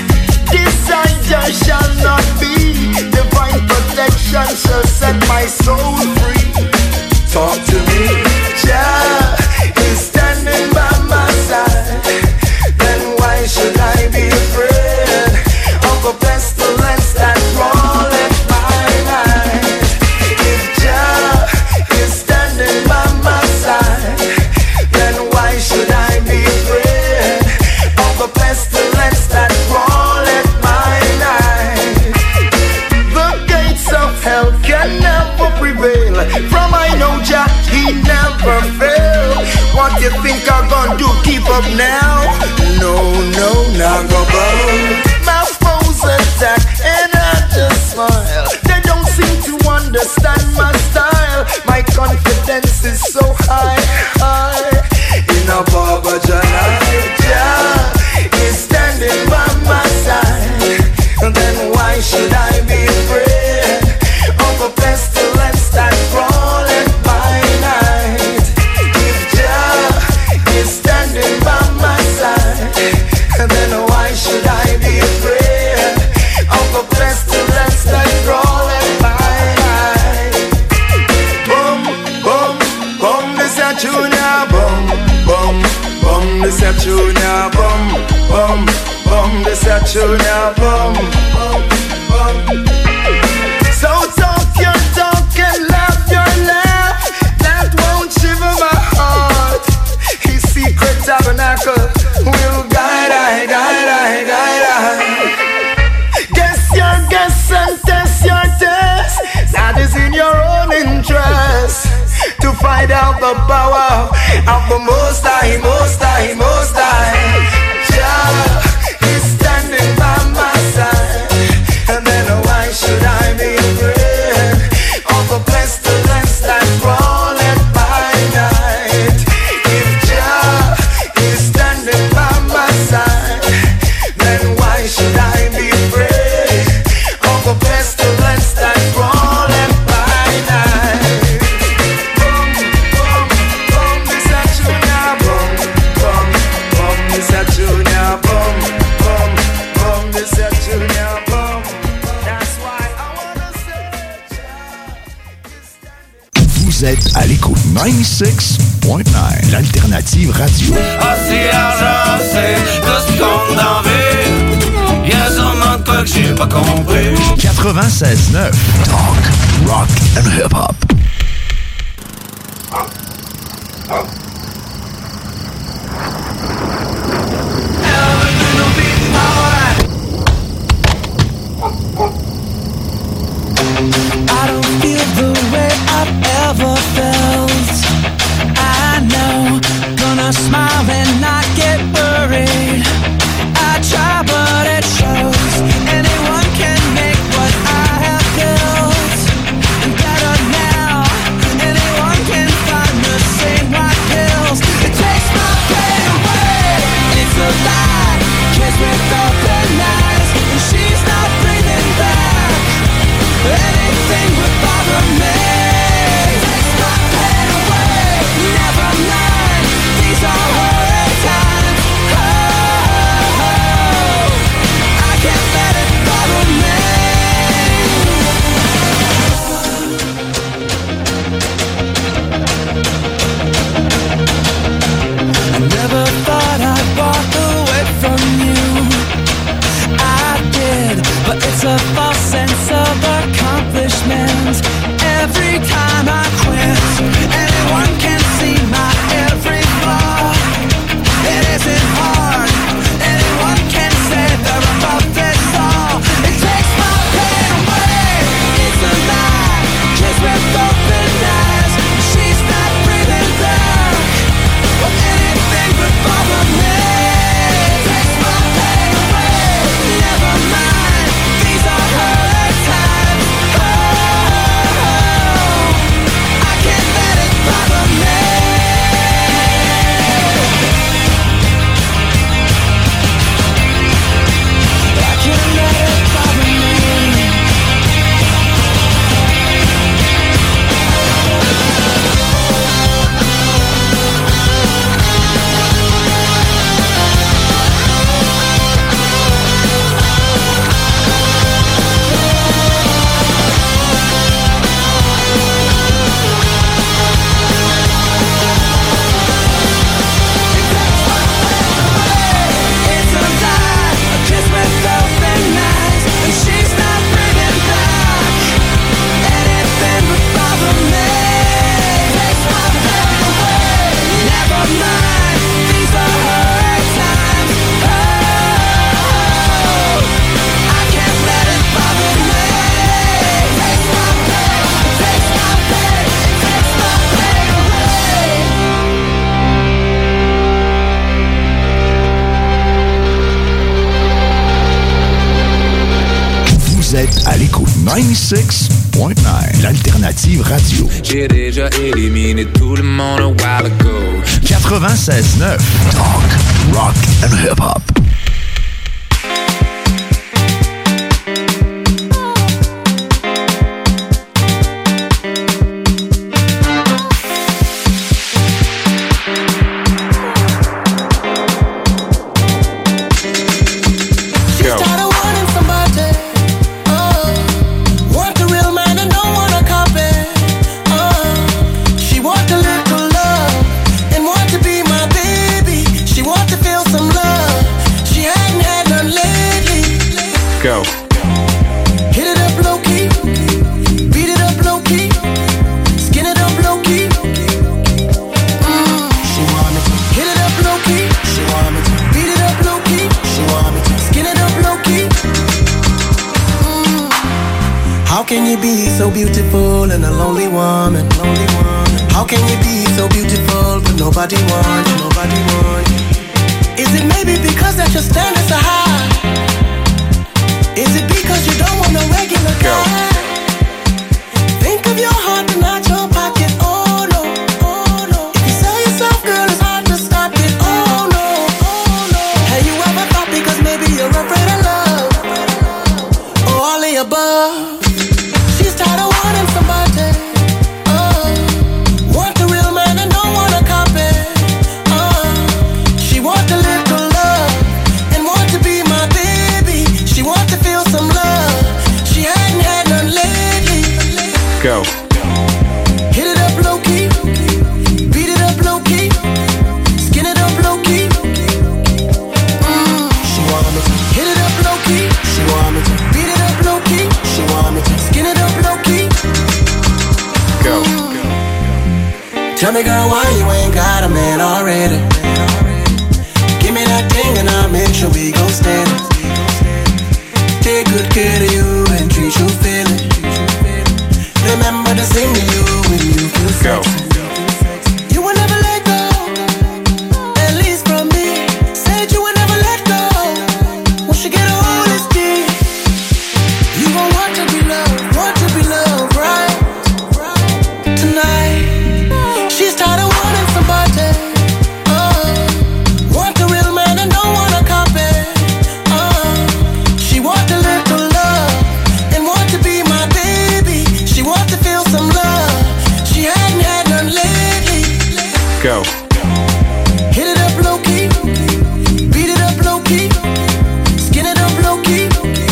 desire shall not be. Divine protection shall set my soul free. Talk to me. Jah is standing by my side, then why should I be afraid of a pestilence that crawleth by night? If Jah is standing by my side, then why should I be afraid of a pestilence that crawleth by night? The gates of hell can never prevail. From I know Jah, he never fail. What you think I'm gonna do? Keep up now? No, no, not go bow. My foes attack and I just smile. They don't seem to understand my style. My confidence is so high, high. In a Baba Jah is standing by my side. Then why should I be afraid of a pestilence that crawleth by night? If Jah is standing by my side, then why should I be afraid of a pestilence that crawleth by night? Boom, boom, boom, this a junior. Boom, boom, boom, this a junior. Boom, boom, boom, this a junior. Boom, boom, boom. So talk your talk and laugh your laugh. That won't shiver my heart. His secret tabernacle will guide I, guide I, guide I. Guess your guess and test your test. That is in your own interest, to find out the power of the Most High, Most High, Most High. Jah is standing by my side, and then why should I be afraid of a pestilence that crawleth by night? If Jah is standing by my side, then why should I be afraid of a pestilence that crawleth by night? Vous êtes à l'écoute 96.9, l'alternative radio. Ah, si l'argent, c'est tout ce qu'on en veut. Y'a sûrement de quoi que j'ai pas compris. 96.9, talk, rock and hip-hop. I don't feel the way I've ever felt. I know, gonna smile and not get worried. I try but it shows. Anyone can make what I have built. And better now, anyone can find the same white pills. It takes my pain away. It's a lie, kiss with open eyes, and she's not breathing back. Anything would bother me. Takes my pain away. Never mind, these are her times. Oh, I can't let it bother me. I never thought I'd walk away from you. I did, but it's a false sense of accomplishment. Every time I quit, anyone can see my every flaw. It isn't hard, anyone can say they're above this all. It takes my pain away, it's a lie, kiss with open eyes, she's not breathing back. But anything would bother me. It takes my pain away, never mind, these are her times. I can't let it bother me. I can't let it bother me. It's a lie, a kiss with open eyes, and she's not breathing back. Anything would bother me. Takes my pain away. Never mind, these are her times. Oh, I can't let it bother me. Takes my pain, takes my pain, takes my pain away. Vous êtes à l'écoute 96.9, l'alternative radio. J'ai déjà éliminé tout le monde a while ago. 96.9, talk, rock and hip-hop. Go. Started wanting somebody, want a real man and don't want a copy. She want a little love and want to be my baby. She want to feel some love. She hadn't had none lately. Go. Hit it up low key, beat it up low key, skin it up low key. She want me to hit it up low key. She want me to beat it up low key. She want me to skin it up low key. How can you be so beautiful and a lonely woman? Lonely woman. How can you be so beautiful but nobody wants you? Nobody wants you. Is it maybe because that your standards are high? Is it because you don't want a regular guy? Think of your heart and not your pocket. Oh no, oh no. If you sell yourself, girl, it's hard to stop it. Oh no, oh no. Have you ever thought because maybe you're afraid of love? Or all the above? She's tired of wanting somebody. Want a real man and don't want a copy. She want a little love and want to be my baby. She want to feel some love. She hadn't had none lately. Go. Hit it up low already. Give me that thing and I'll make sure we gon' stand it. Take good care of you and treat you fairly. Remember to sing to you when you feel sexy. You will never let go, at least from me. Said you will never let go. Once you get a hold of this key, you gon' want to be loved, right? Tonight, she's tired of wanting somebody. Want a real man and don't want a copy. She want a little love and want to be my baby. She want to feel some love. She hadn't had none lately. Go. Hit it up low key, beat it up low key, skin it up low key.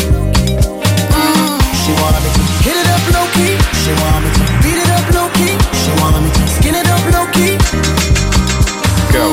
She want me to hit it up low key. She want me to beat it up low key. She want me to skin it up low key. Go.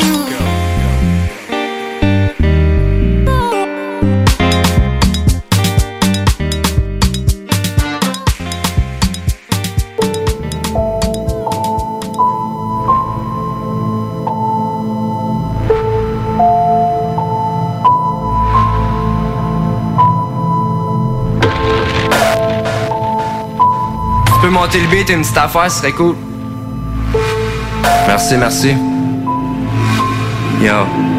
Tu peux monter le beat, une petite affaire, ce serait cool. Merci, merci. Yo.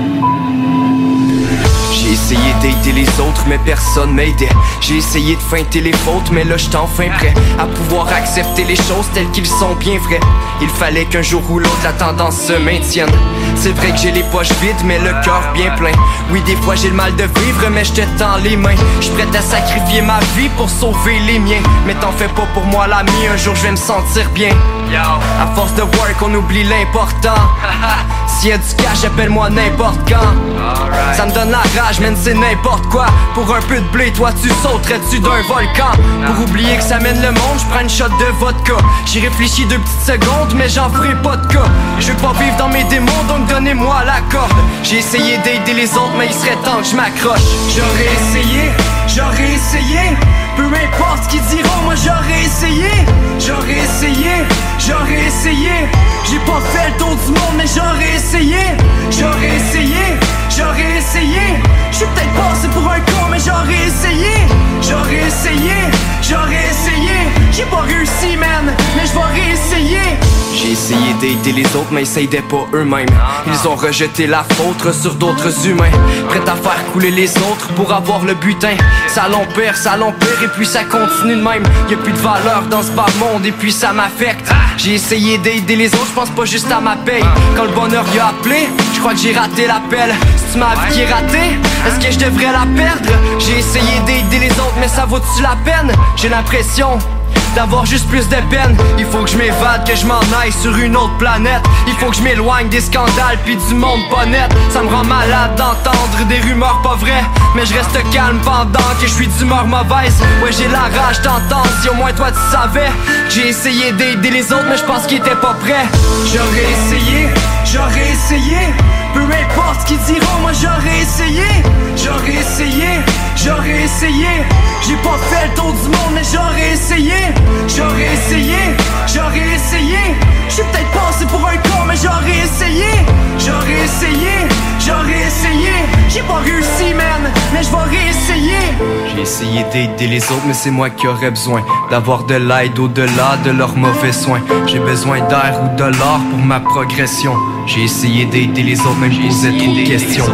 J'ai essayé d'aider les autres, mais personne m'aidait. J'ai essayé de feinter les fautes, mais là j'étais enfin prêt à pouvoir accepter les choses telles qu'ils sont bien vraies. Il fallait qu'un jour ou l'autre la tendance se maintienne. C'est vrai que j'ai les poches vides, mais le cœur bien plein. Oui, des fois j'ai le mal de vivre, mais je te tends les mains. Je suis prêt à sacrifier ma vie pour sauver les miens. Mais t'en fais pas pour moi l'ami, un jour je vais me sentir bien. À force de work, on oublie l'important. S'il y a du cash, appelle-moi n'importe quand. Ça me donne la rage, man, c'est n'importe quoi. Pour un peu de blé, toi tu sauterais-tu d'un volcan? Pour oublier que ça mène le monde, je prends une shot de vodka. J'y réfléchis 2 petites secondes, mais j'en ferai pas de cas. Je veux pas vivre dans mes démons, donc donnez-moi la corde. J'ai essayé d'aider les autres, mais il serait temps que je m'accroche. J'aurais essayé, peu importe ce qu'ils diront, moi j'aurais essayé. J'ai pas fait le tour du monde, mais j'aurais essayé. J'suis peut-être passé pour un con, mais j'aurais essayé. J'ai pas réussi, man, mais j'vais réessayer. J'ai essayé d'aider les autres, mais ils s'aidaient pas eux-mêmes. Ils ont rejeté la faute sur d'autres humains, prêts à faire couler les autres pour avoir le butin. Ça l'empire, et puis ça continue de même. Y'a plus de valeur dans ce bas monde, et puis ça m'affecte. J'ai essayé d'aider les autres, j'pense pas juste à ma paye. Quand le bonheur y a appelé, j'crois que j'ai raté l'appel. C'est-tu ma vie qui est ratée? Est-ce que je devrais la perdre? J'ai essayé d'aider les autres, mais ça vaut-tu la peine? J'ai l'impression d'avoir juste plus de peine. Il faut que je m'évade, que je m'en aille sur une autre planète. Il faut que je m'éloigne des scandales puis du monde pas net. Ça me rend malade d'entendre des rumeurs pas vraies, mais je reste calme pendant que je suis d'humeur mauvaise. Ouais, j'ai la rage d'entendre, si au moins toi tu savais. J'ai essayé d'aider les autres, mais je pense qu'ils étaient pas prêts. J'aurais essayé, peu importe ce qu'ils diront, moi j'aurais essayé. J'ai pas fait le tour du monde, mais j'aurais essayé. J'suis peut-être passé pour un con, mais j'aurais essayé. J'ai pas réussi, man, mais j'vais réessayer. J'ai essayé d'aider les autres, mais c'est moi qui aurais besoin d'avoir de l'aide au-delà de leurs mauvais soins. J'ai besoin d'air ou de l'or pour ma progression. J'ai essayé d'aider les autres, mais je posais trop de questions.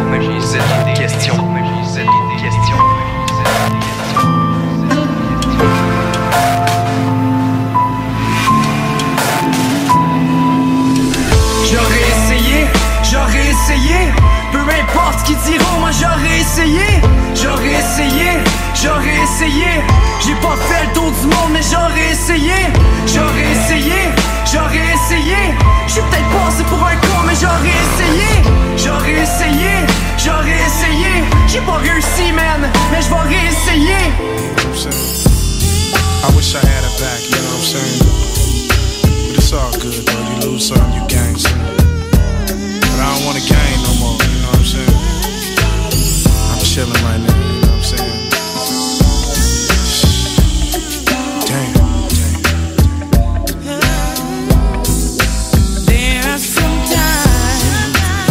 J'aurais essayé, peu importe ce qu'ils diront, moi j'aurais essayé. J'ai pas fait le tour du monde, mais j'aurais essayé. J'suis peut-être passé pour un con, mais j'aurais essayé. J'ai pas réussi, man, mais j'vais réessayer. I wish I had it back, you know what I'm saying? But it's all good, though. You lose some, you gain some. But I don't wanna gain no more, you know what I'm saying? I'm chilling right now, you know what I'm saying? There are some times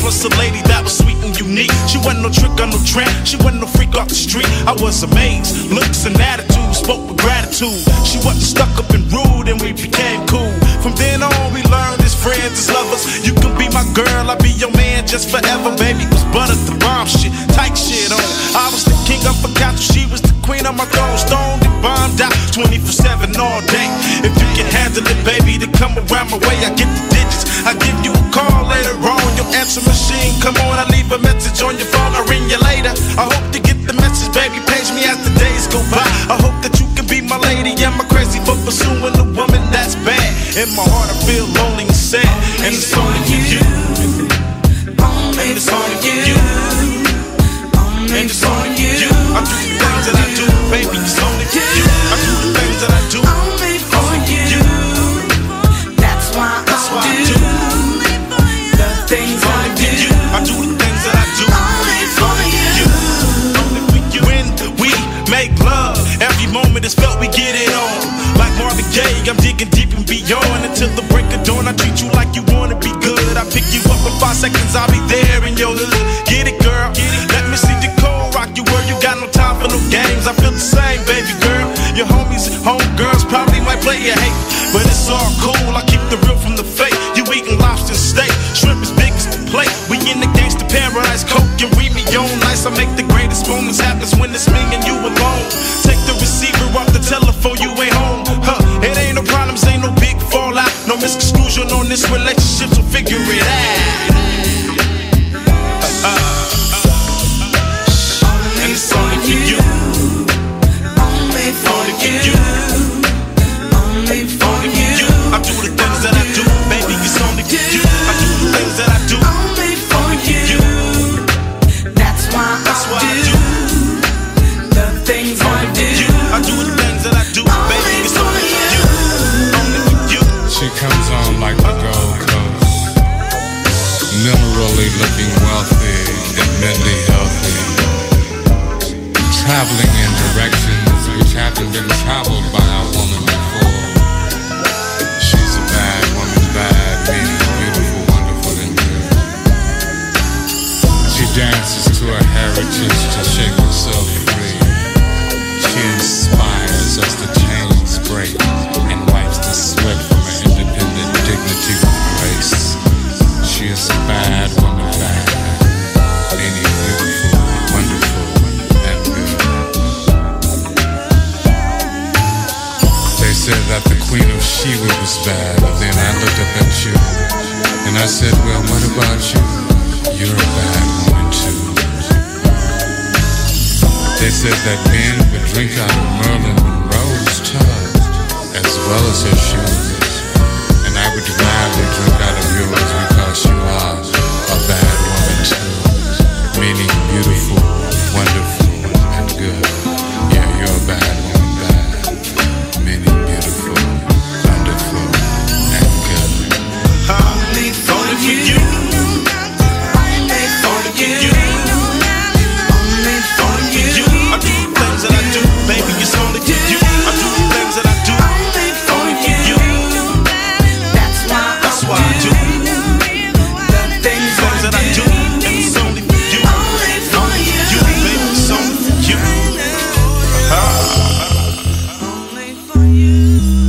promised a lady that was sweet and unique. She wasn't no trick or no tramp, she wasn't no freak off the street. I was amazed, looks and attitude, spoke with gratitude. She wasn't stuck up and rude and we became cool. From then on we learned as friends, as lovers. You can be my girl, I'll be your man just forever. Baby was butter the bomb shit, tight shit on. I was the king of a couch, she was the queen of my throne. Stoned and bombed out 24/7 all day. If you can handle it, baby, then come around my way. I get the digits, I give you a call later on. Your answer machine, come on, I leave a message on your phone. I'll ring you later. I hope you get the message, baby. Page me as the days go by. I hope that you can be my lady. Am I crazy for pursuing a woman that's bad? In my heart I feel lonely and sad, and it's only for you. And it's only for you. And it's only for you. I do the things that I do, baby. It's only for you. I do the things that I do only for you. That's why I do the things I do. I do the things that I do only for you. Only for you. When we make love, every moment is felt, we get it on. Like Marvin Gaye, I'm digging deep and beyond. Until the break of dawn, I treat you like you wanna be good. I pick you up in 5 seconds, I'll be there in your hood. Get it, girl? Let me see the cold rock you where you got no time for no games. I feel the same, baby girl. Your homies, homegirls probably might play you hate, but it's all cool. I keep the real from the fake. You eating lobster steak, shrimp as big as the plate. We in the gangsta paradise, coke and read me on nice. I make the greatest moments happen when it's me and you alone. Take the receiver off the telephone, you ain't home. It ain't no problems, ain't no big fallout. No misconstruction on this relationship, so figure it out. And it's only for you. Only for you. Only for you. I do the things that I do, baby, it's only for you. I do the things that I do only for you. That's why I do the things I do. I do the things that I do, baby, it's only for you. Only for you. She comes on like the Gold Coast, minerally looking wealthy and mentally healthy, traveling in directions which haven't been traveled by a woman before. She's a bad woman, bad, meaning beautiful, wonderful, and good. She dances to her heritage to shake herself free. She inspires us to chains break and wipes the sweat from her independent dignity with grace. She is a bad woman, bad, meaning beautiful, wonderful, and good. They said that the Queen of Sheba was bad, but then I looked up at you and I said, well, what about you? You're a bad woman too. They said that men would drink out of Marilyn Monroe's tub as well as her shoes, and I would gladly drink out of yours because you are a bad woman too, meaning beautiful, wonderful, and good. Yeah, you're a bad woman, bad, meaning beautiful, wonderful, and good. Only for you. Only for you. Only for you. I do the things that I do, baby, it's only for you. I do the things that I do only for you. That's why I do the things that I do, and it's only for you. Only for you, baby, it's only for you. Only for you.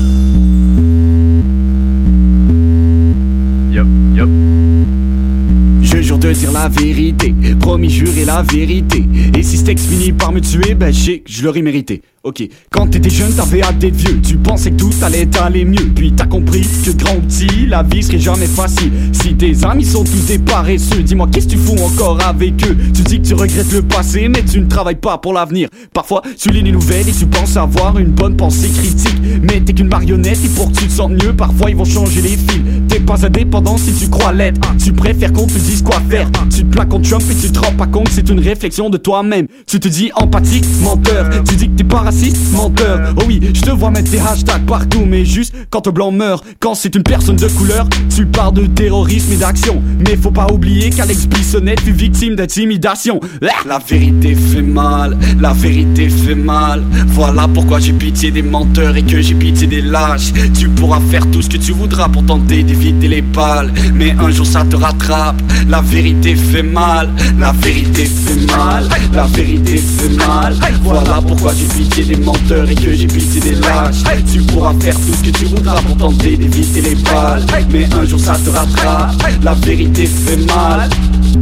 Yup. Je jure de dire la vérité, promis jurer la vérité. Et si ce texte finit par me tuer, ben je sais que je l'aurais mérité. Ok, quand t'étais jeune, t'avais hâte d'être vieux. Tu pensais que tout allait t'aller mieux. Puis t'as compris que grand ou petit, la vie serait jamais facile. Si tes amis sont tous des paresseux, dis-moi qu'est-ce que tu fous encore avec eux? Tu dis que tu regrettes le passé, mais tu ne travailles pas pour l'avenir. Parfois, tu lis les nouvelles et tu penses avoir une bonne pensée critique. Mais t'es qu'une marionnette et pour que tu te sentes mieux, parfois ils vont changer les fils. T'es pas indépendant si tu crois l'être. Tu préfères qu'on te dise quoi faire. Tu te plaques contre Trump et tu te rends pas compte que c'est une réflexion de toi-même. Tu te dis empathique, menteur. Tu dis que t'es pas raciste, menteur. Oh oui, je te vois mettre des hashtags partout, mais juste quand un blanc meurt. Quand c'est une personne de couleur, tu parles de terrorisme et d'action. Mais faut pas oublier qu'Alex Bissonnette fut victime d'intimidation. La vérité fait mal, la vérité fait mal. Voilà pourquoi j'ai pitié des menteurs et que j'ai pitié des lâches. Tu pourras faire tout ce que tu voudras pour tenter d'éviter d'éviter les balles. Mais un jour ça te rattrape. La vérité fait mal, la vérité fait mal, la vérité fait mal. Voilà pourquoi j'ai pitié des menteurs et que j'ai pitié des lâches. Tu pourras faire tout ce que tu voudras pour tenter d'éviter les balles. Mais un jour ça te rattrape, la vérité fait mal.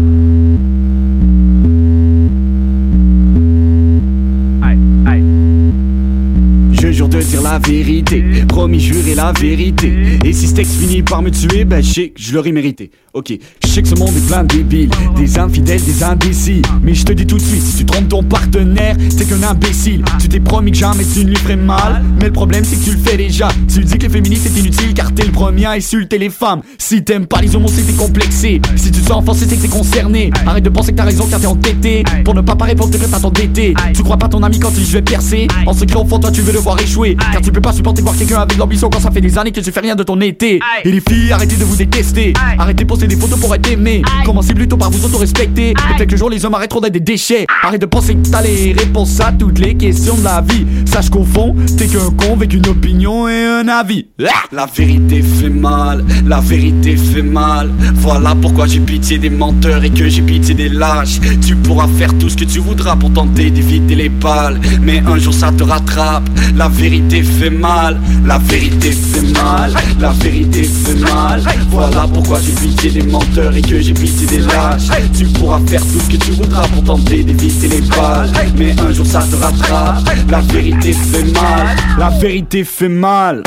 Je jure de dire la vérité, promis jurer la vérité. Et si ce texte finit par me tuer, ben je sais que je l'aurais mérité. Ok, je sais que ce monde est plein de débiles, des infidèles, des indécis. Mais je te dis tout de suite, si tu trompes ton partenaire, t'es qu'un imbécile. Tu t'es promis que jamais tu ne lui ferais mal, mais le problème c'est que tu le fais déjà. Tu dis que les féministes c'est inutile car t'es le premier à insulter les femmes. Si t'aimes pas les homos c'est que t'es complexé. Si tu te sens offensé c'est que t'es concerné. Arrête de penser que t'as raison car t'es entêté. Pour ne pas répondre t'es prêt à t'endetter. Tu crois pas ton ami quand il dit je vais percer. En secret au fond toi tu veux le voir échouer. Car tu peux pas supporter voir quelqu'un avec l'ambition quand ça fait des années que tu fais rien de ton été. Et les filles arrêtez de vous détester. Arrêtez de poster des photos pour être aimé. Commencez plutôt par vous auto-respecter. Et quelques jours les hommes arrêteront d'être des déchets. Arrête de penser que t'as les réponses à toutes les questions de la vie. Sache qu'au fond t'es qu'un con avec une opinion et un avis. La vérité fait mal, la vérité fait mal. Voilà pourquoi j'ai pitié des menteurs et que j'ai pitié des lâches. Tu pourras faire tout ce que tu voudras pour tenter d'éviter les balles. Mais un jour ça te rattrape. La vérité fait mal, la vérité fait mal, la vérité fait mal. Voilà pourquoi j'ai pitié des menteurs et que j'ai pitié des lâches. Tu pourras faire tout ce que tu voudras pour tenter d'éviter les balles. Mais un jour ça te rattrape. La vérité fait mal, la vérité fait mal.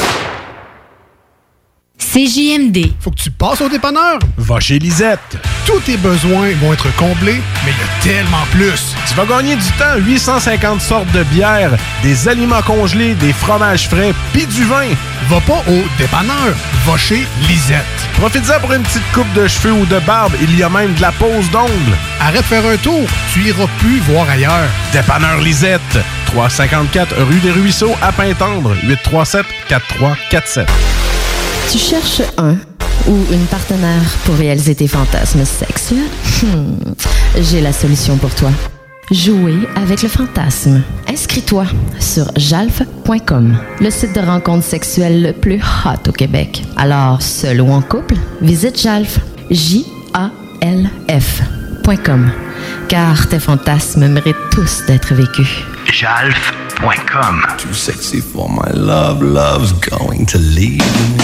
CJMD. Faut que tu passes au dépanneur. Va chez Lisette. Tous tes besoins vont être comblés, mais il y a tellement plus. Tu vas gagner du temps. 850 sortes de bières, des aliments congelés, des fromages frais, puis du vin. Va pas au dépanneur. Va chez Lisette. Profite-en pour une petite coupe de cheveux ou de barbe. Il y a même de la pose d'ongles. Arrête de faire un tour. Tu iras plus voir ailleurs. Dépanneur Lisette. 354 rue des Ruisseaux à Pintendre. 837-4347. Tu cherches un ou une partenaire pour réaliser tes fantasmes sexuels? J'ai la solution pour toi. Jouer avec le fantasme. Inscris-toi sur jalf.com, le site de rencontres sexuelles le plus hot au Québec. Alors, seul ou en couple, visite Jalf, JALF.com, car tes fantasmes méritent tous d'être vécus. Jalf.com. Too sexy for my love, love's going to leave me.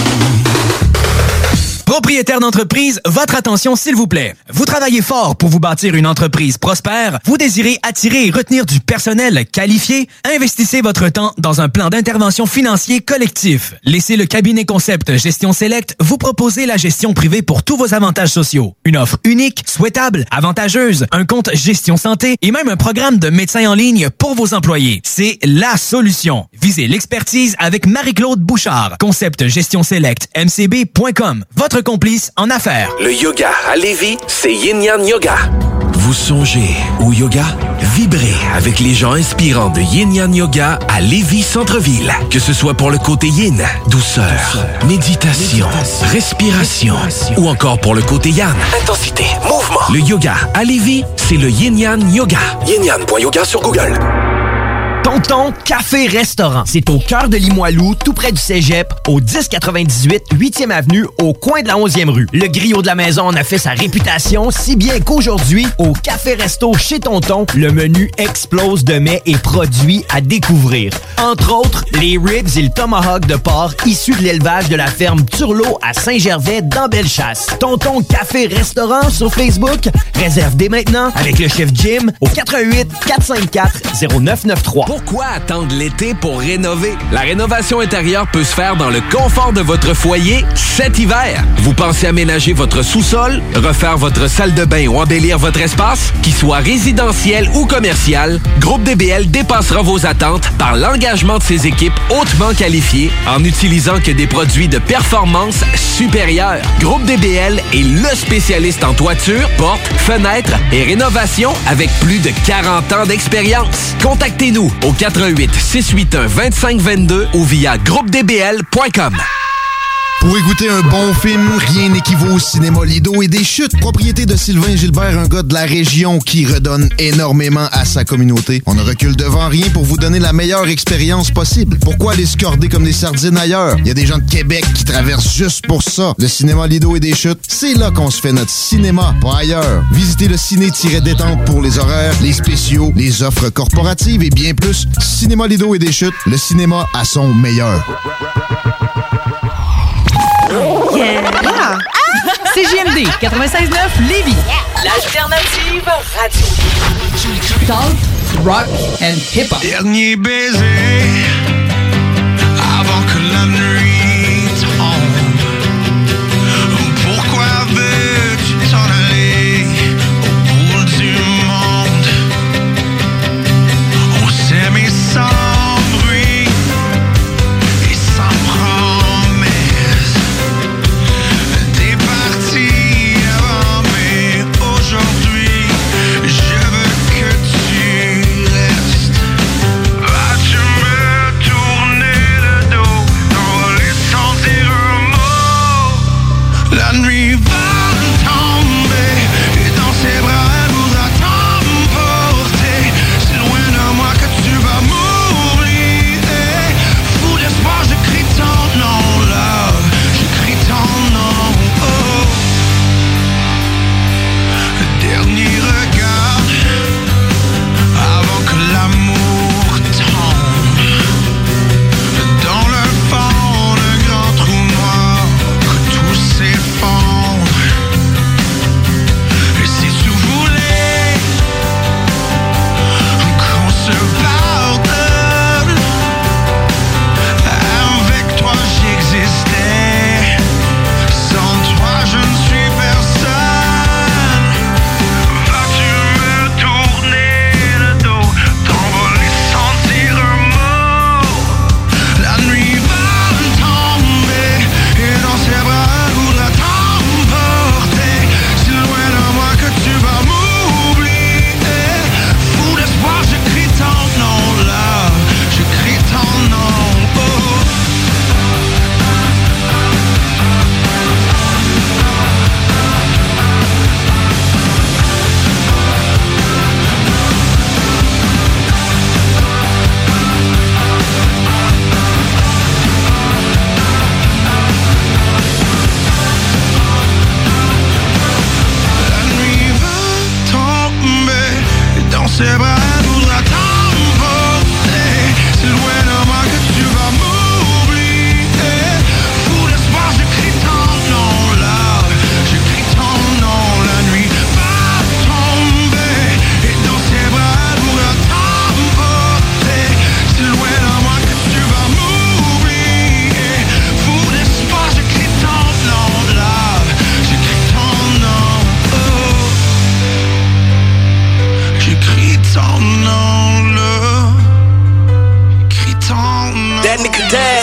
Propriétaire d'entreprise, votre attention s'il vous plaît. Vous travaillez fort pour vous bâtir une entreprise prospère, vous désirez attirer et retenir du personnel qualifié, investissez votre temps dans un plan d'intervention financier collectif. Laissez le cabinet concept Gestion Select vous proposer la gestion privée pour tous vos avantages sociaux. Une offre unique, souhaitable, avantageuse, un compte gestion santé et même un programme de médecin en ligne pour vos employés. C'est la solution. Visez l'expertise avec Marie-Claude Bouchard. Concept Gestion Select, mcb.com. Votre complice en affaires. Le yoga à Lévis, c'est Yin Yang Yoga. Vous songez au yoga? Vibrez avec les gens inspirants de Yin Yang Yoga à Lévis Centre-Ville. Que ce soit pour le côté yin, douceur, méditation, respiration ou encore pour le côté yang, intensité, mouvement. Le yoga à Lévis, c'est le Yin Yang Yoga. Yin-Yang.yoga sur Google. Tonton Café Restaurant. C'est au cœur de Limoilou, tout près du Cégep, au 1098 8e Avenue, au coin de la 11e rue. Le griot de la maison en a fait sa réputation, si bien qu'aujourd'hui, au Café Resto chez Tonton, le menu explose de mets et produits à découvrir. Entre autres, les ribs et le tomahawk de porc issus de l'élevage de la ferme Turlot à Saint-Gervais dans Bellechasse. Tonton Café Restaurant sur Facebook. Réserve dès maintenant avec le chef Jim au 88 454 0993. Pourquoi attendre l'été pour rénover? La rénovation intérieure peut se faire dans le confort de votre foyer cet hiver. Vous pensez aménager votre sous-sol, refaire votre salle de bain ou embellir votre espace? Qu'il soit résidentiel ou commercial, Groupe DBL dépassera vos attentes par l'engagement de ses équipes hautement qualifiées en n'utilisant que des produits de performance supérieure. Groupe DBL est le spécialiste en toiture, portes, fenêtres et rénovation avec plus de 40 ans d'expérience. Contactez-nous au 88 681 2522 ou via groupedbl.com. Pour écouter un bon film, rien n'équivaut au cinéma Lido et des chutes. Propriété de Sylvain Gilbert, un gars de la région qui redonne énormément à sa communauté. On ne recule devant rien pour vous donner la meilleure expérience possible. Pourquoi aller se corder comme des sardines ailleurs? Il y a des gens de Québec qui traversent juste pour ça. Le cinéma Lido et des chutes, c'est là qu'on se fait notre cinéma, pas ailleurs. Visitez le ciné-détente pour les horaires, les spéciaux, les offres corporatives et bien plus. Cinéma Lido et des chutes, le cinéma à son meilleur. Yeah. C'est JMD 96.9 Lévis. L'alternative radio. Talk, rock and hip-hop. Dernier baiser avant que la nuit tombe. Pourquoi veux-tu t'en aller au bout du monde? On s'aimait sans bruit et sans promesse. T'es parti avant, mais aujourd'hui je veux que tu restes. Vas-tu me tourner le dos, t'envoler sans dire un mot? La nuit va tomber et dans ses bras elle voudra t'emporter. C'est loin de moi que tu vas m'oublier. Fou d'espoir, je crie ton nom, love, je crie ton nom. Oh. Dernier regard avant que l'amour tombe. Dans le fond d'un grand trou noir que tout s'effondre. Et si tu voulais qu'on se pardonne, avec toi j'existais, sans toi je ne suis personne. Vas-tu me tourner le dos, t'envoler sans dire un mot? La nuit va tomber et dans ses bras elle voudra t'emporter. Si loin de moi que tu vas m'oublier. Fou d'espoir, je crie ton nom, là, je crie ton nom. Oh. La nuit va tomber et dans ses bras elle voudra t'emporter. C'est loin de moi que tu vas m'oublier. Fou d'espoir, je crie ton nom, là, je crie ton nom. La nuit va tomber et dans ses bras elle voudra t'emporter. C'est loin de moi que tu vas m'oublier. Fou d'espoir, je crie ton nom, là, je crie ton nom. Oh. J'écris ton nom, là. J'écris ton nom. That nigga dead.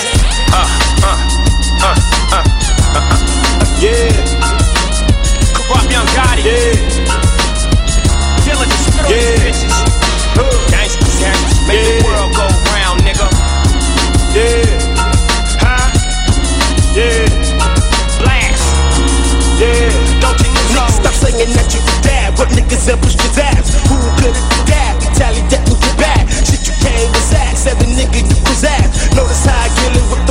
Yeah. Corrupt young Gotti. Yeah. Feeling the spirit. Yeah. Gangsters, gangsters. Make the world go round, nigga. Yeah. Huh? Yeah. Blast. Yeah. Don't you know? Stop saying that you could dab. What niggas ever push your dabs? Who could it do that? Retaliate that with your bad. Shit you came was ass. Every nigga you was ass. Notice how I kill it with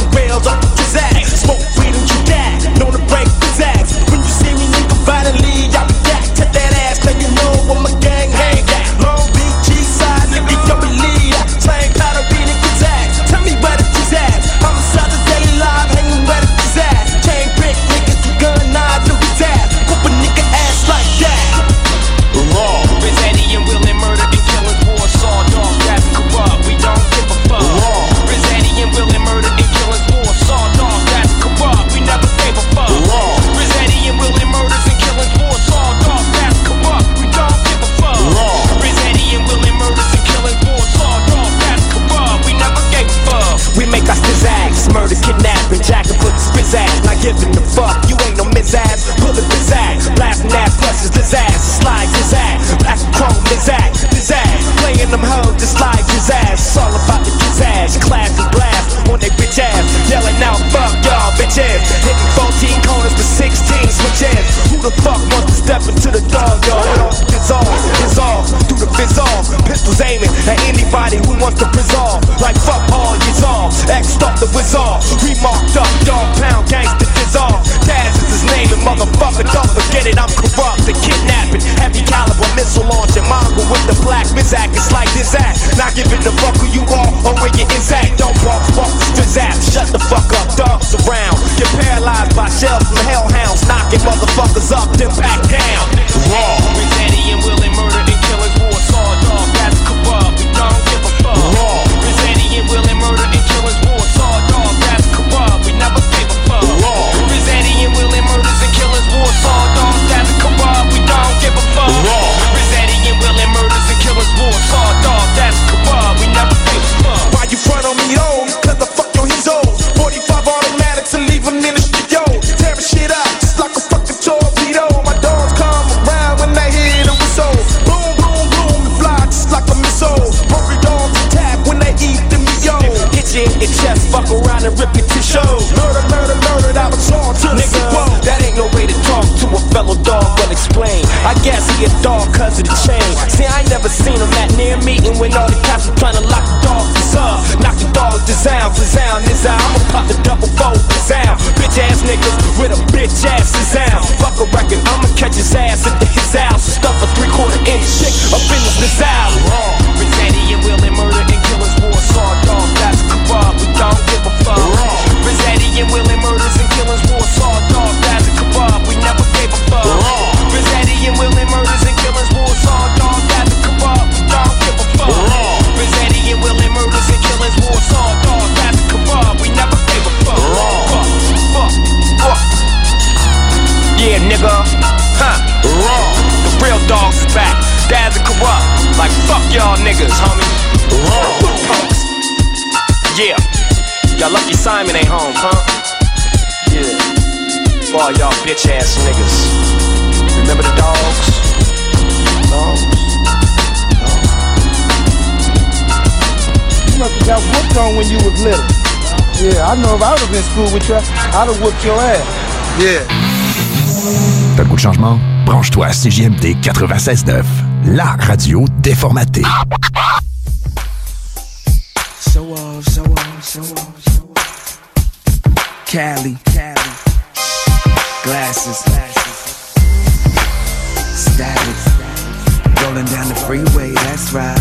all. We marked up, dog pound, gangsta dissolve. Taz is his name, and motherfucker, don't forget it. I'm corrupt and kidnapping. Heavy caliber missile launching. Mongo with the black Mizak. It's like this act. Not giving the fuck who you are or where your exact. Don't walk the streets out. Shut the fuck up, dogs around. Get paralyzed by shells from hellhounds. Knocking motherfuckers up, then back down. Raw. Eddie and Willie murder and killing war. Saw dog, that's corrupt. We don't give a fuck. Raw. Eddie and Willie murder and killing war. Saw dog, that's corrupt. We never gave a fuck. Raw. Eddie and Willie murders and killers war. Saw dog, that's corrupt. We don't give a fuck. Raw. Eddie and Willie murders and killers war. Saw dog, that's corrupt. We never gave a fuck. Why you front on me, oh? Cause the fuck yo, he's old. 45 automatics and leave him in the studio. Tearing shit up just like a fucking torpedo. My dogs come around when they hear the whistle. Boom, boom, boom, it fly just like a missile. Hungry dogs attack when they eat the meat. Hit you in your chest, fuck around and rip your tissue. Murder, murder, murder, that was all to nigga. Whoa, that ain't no way to talk to a fellow dog, but explain. I guess he a dog cause of the chain. See, I ain't never seen him at near meeting when all the cops are trying to lock the dogs up. Knock the dogs down, is out. I'ma pop the double fold sound. Bitch ass niggas with a bitch ass sound. Fuck a record, I'ma catch his ass into his house. Stuff a 3/4 inch chick up in his nasal. Rich Eddie and Willie murder and killers war. Saw dog, that's corrupt. We don't give a fuck. Rich Eddie and Willie murders and killers war. Saw dog, that's corrupt. We never gave a fuck. Rich Eddie and Willie murders and killers war. Saw dog, that's corrupt. We don't give a fuck. Rich Eddie and Willie murders and killers war. Saw dog, that's corrupt. We never gave a fuck. Fuck. Yeah, nigga. Huh. Raw. The real dogs is back. Dad's a corrupt. Like fuck y'all niggas, homie. Raw. Punks. Yeah. Y'all lucky Simon ain't home, huh? Yeah. For all y'all bitch ass niggas. Remember the dogs? You must have got whooped on when you was little. Yeah, I know if I would have been in school with you, I'd have whooped your ass. Yeah. T'as le goût de changement? Branche-toi à CJMD 96.9, la radio déformatée. Cali, glasses, static, rolling down the freeway, that's right.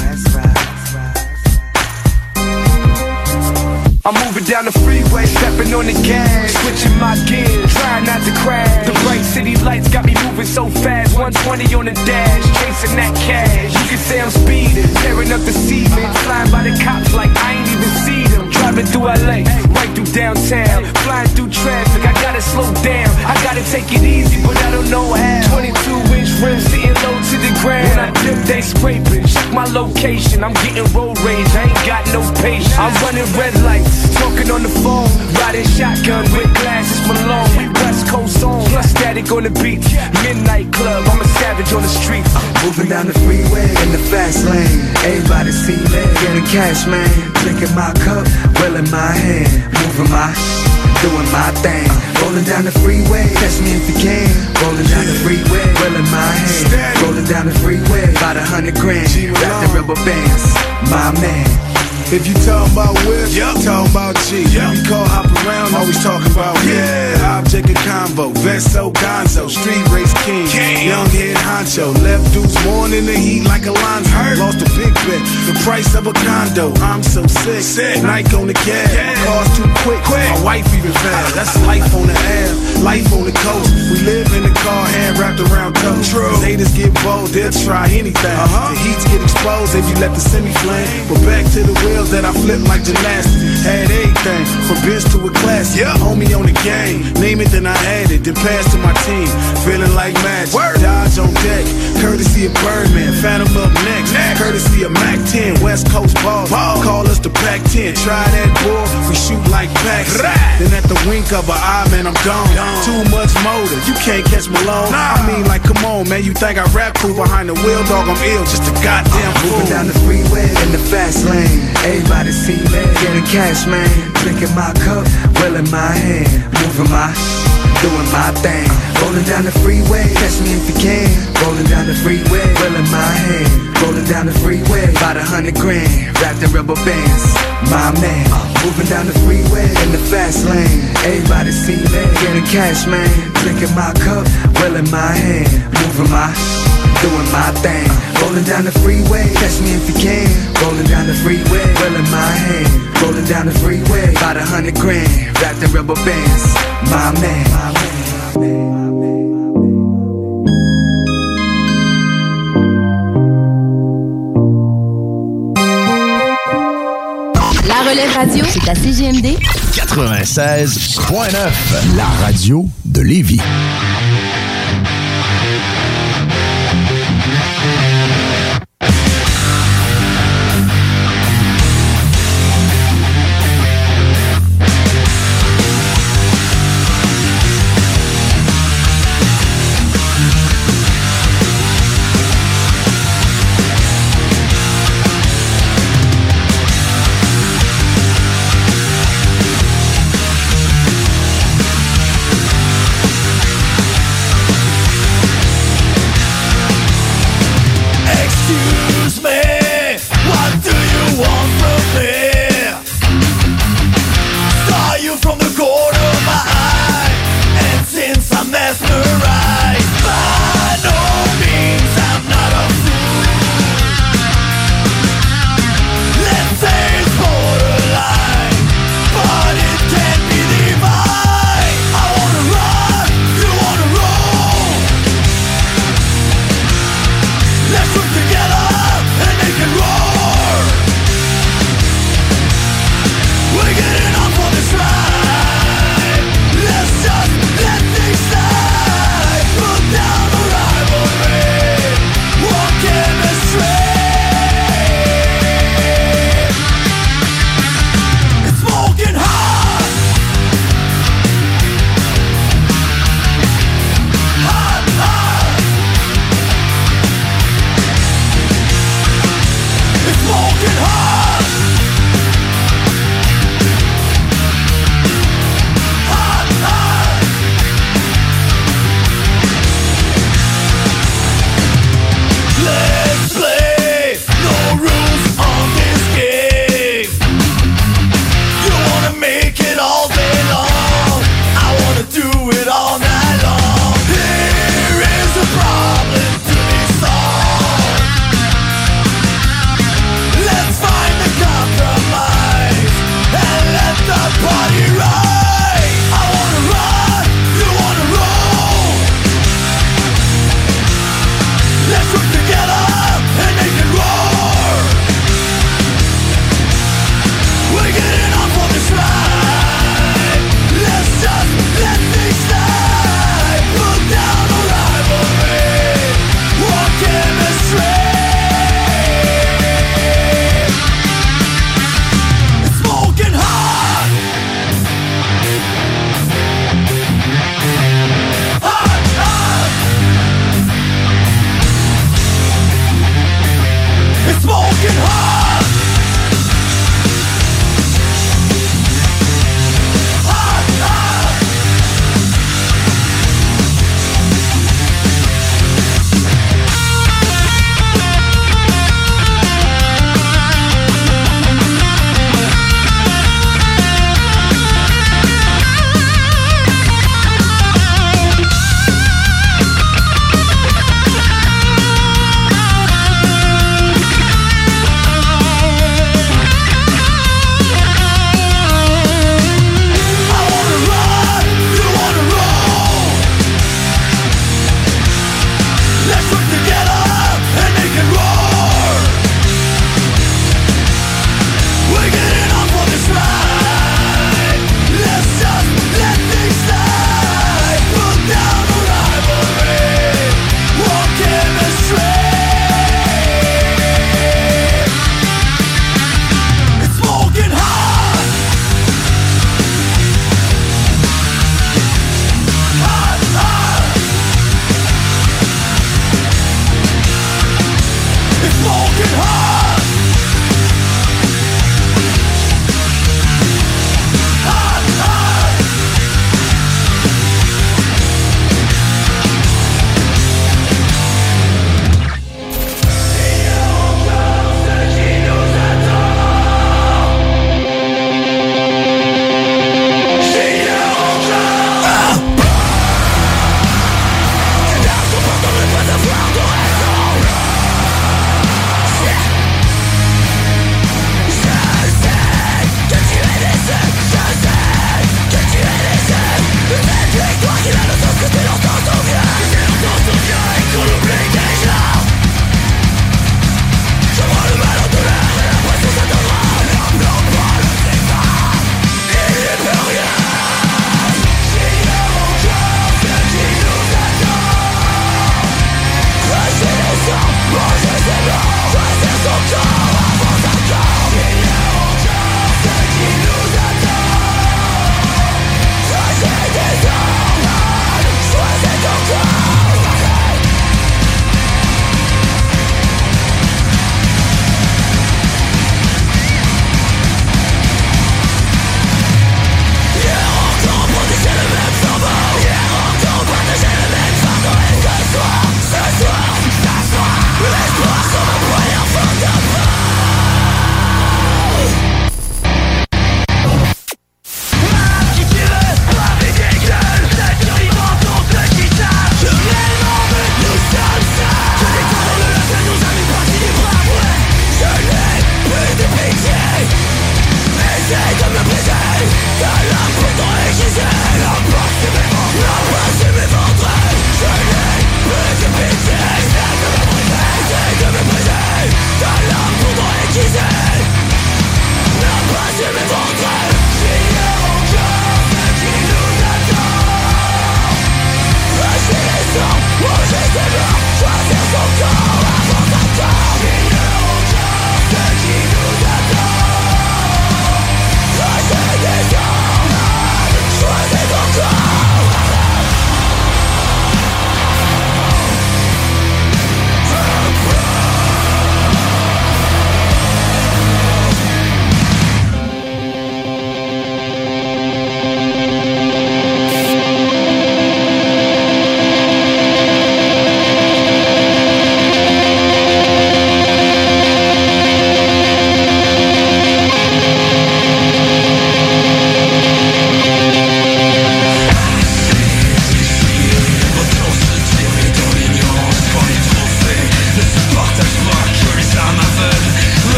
I'm moving down the freeway, stepping on the gas, switching my gears, trying not to crash. The bright city lights got me moving so fast, 120 on the dash, chasing that cash. You can say I'm speeding, tearing up the cement, flying by the cops like I ain't even see them. Driving through LA, right through downtown, flying through traffic, I gotta slow down, I gotta take it easy, but I don't know how. 22-inch rims sitting low to the ground. When I dip, they scraping, check my location, I'm getting road rage, I ain't got no patience. I'm running red lights, talking on the phone, riding shotgun with glasses Malone. We West Coast on, plus static on the beach, midnight club, I'm a savage on the street. Moving down the freeway in the fast lane. Everybody see me, getting cash, man. Drinking my cup, well in my hand. Moving my, doing my thing. Rolling down the freeway, catch me if you can. Rolling down the freeway, well in my hand. Rolling down the freeway, about 100 grand. Got the rubber bands, my man. If you talk about whip, talk about G. We call hop around, always talking about object of convo, Vesto, Gonzo, street race king, young head honcho. Left dudes born in the heat like Alonzo. Lost a big bet, the price of a condo. I'm so sick. Nike on the gas, cars too quick. My wife even fast. That's life on the air, life on the coast. We live in the car, hand wrapped around toes. Haters get bold, they'll try anything. The heats get exposed if you let the semi flame. But back to the wheel that I flip like gymnastics. Had everything from biz to a classic. Homie on the game, name it then I add it, then pass to my team. Feeling like magic. Dodge on deck, courtesy of Birdman. Phantom up next, courtesy of Mac 10. West Coast ball, call us the Pac 10. Try that boy, we shoot like packs. Then at the wink of an eye, man, I'm gone. Too much motor, you can't catch Malone. I mean, like, come on, man, you think I rap cool behind the wheel, dog? I'm ill, just a goddamn fool. Moving down the freeway in the fast lane. Everybody see me, getting cash, man. Drinking my cup, well in my hand. Moving my, doing my thing. Rolling down the freeway, catch me if you can. Rolling down the freeway, well in my hand. Rolling down the freeway, about 100 grand, wrapped in rubber bands. My man, moving down the freeway in the fast lane. Everybody see me, getting cash, man. Drinking my cup, well in my hand. Moving my, doing my thing. Rolling down the freeway, catch me if you can. Rolling down the freeway, well in my hand. Rolling down the freeway, about 100 grand, wrapped in rubber bands. My man, my man, my man. La Relève Radio, c'est à CGMD 96.9, la radio de Lévis.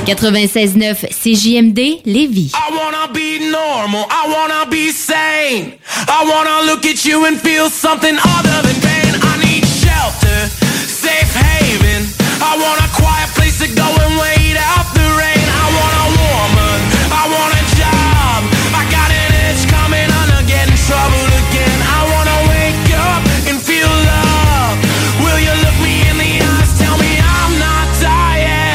96.9 CJMD Lévis. I wanna be normal, I wanna be sane. I wanna look at you and feel something other than pain. I need shelter, safe haven. I want a quiet place to go and wait out the rain. I want a woman, I want a job. I got an itch coming on to get in trouble again. I wanna wake up and feel love. Will you look me in the eyes, tell me I'm not dying?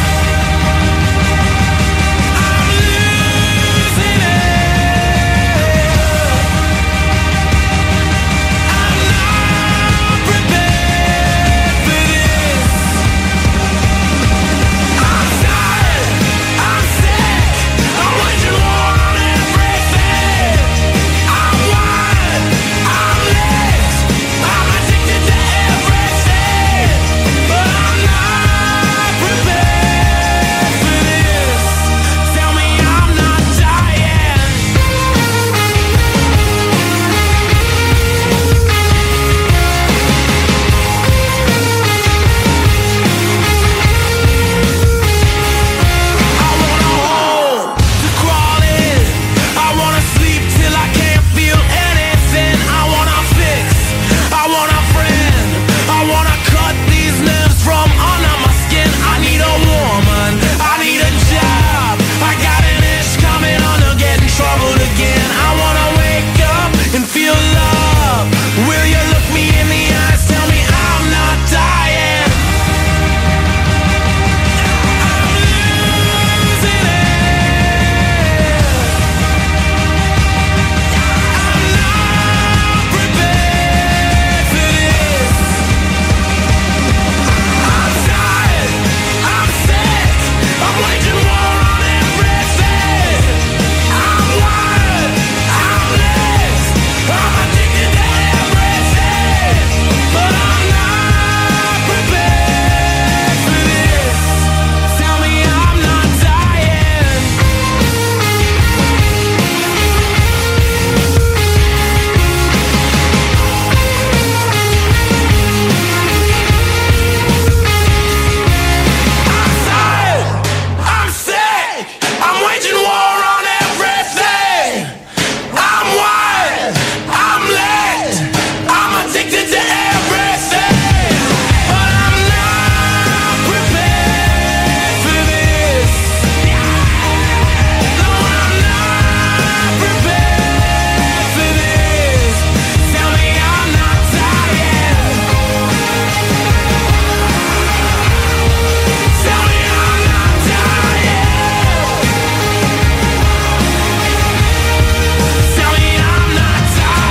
I'm losing it. I'm not prepared for this. I'm tired, I'm sick, I'm waging war on everything. I'm wired, I'm licked, I'm addicted to everything. But I'm not prepared for this. Tell me I'm not dying. I want a hole to crawl in. I wanna sleep till I can't feel anything. I wanna fix, I want a friend. I wanna cut these nerves from under my skin. I need a woman, I need a job. I got an itch coming on to get in trouble again. I wanna wake up and feel love. Will you look me in the eyes, tell me I'm not dying? I'm losing it. I'm not prepared for this. I'm tired, I'm sick, I'm waging war on everything. I'm wired, I'm licked, I'm addicted to everything. But I'm not prepared for this. Tell me I'm not dying. I'm tired, I'm sick, I'm waging war on everything. I'm wired, I'm licked, I'm addicted to everything. But I'm not prepared for this. No, I'm not prepared for this. Tell me I'm not dying. Tell me I'm not dying. Tell me I'm not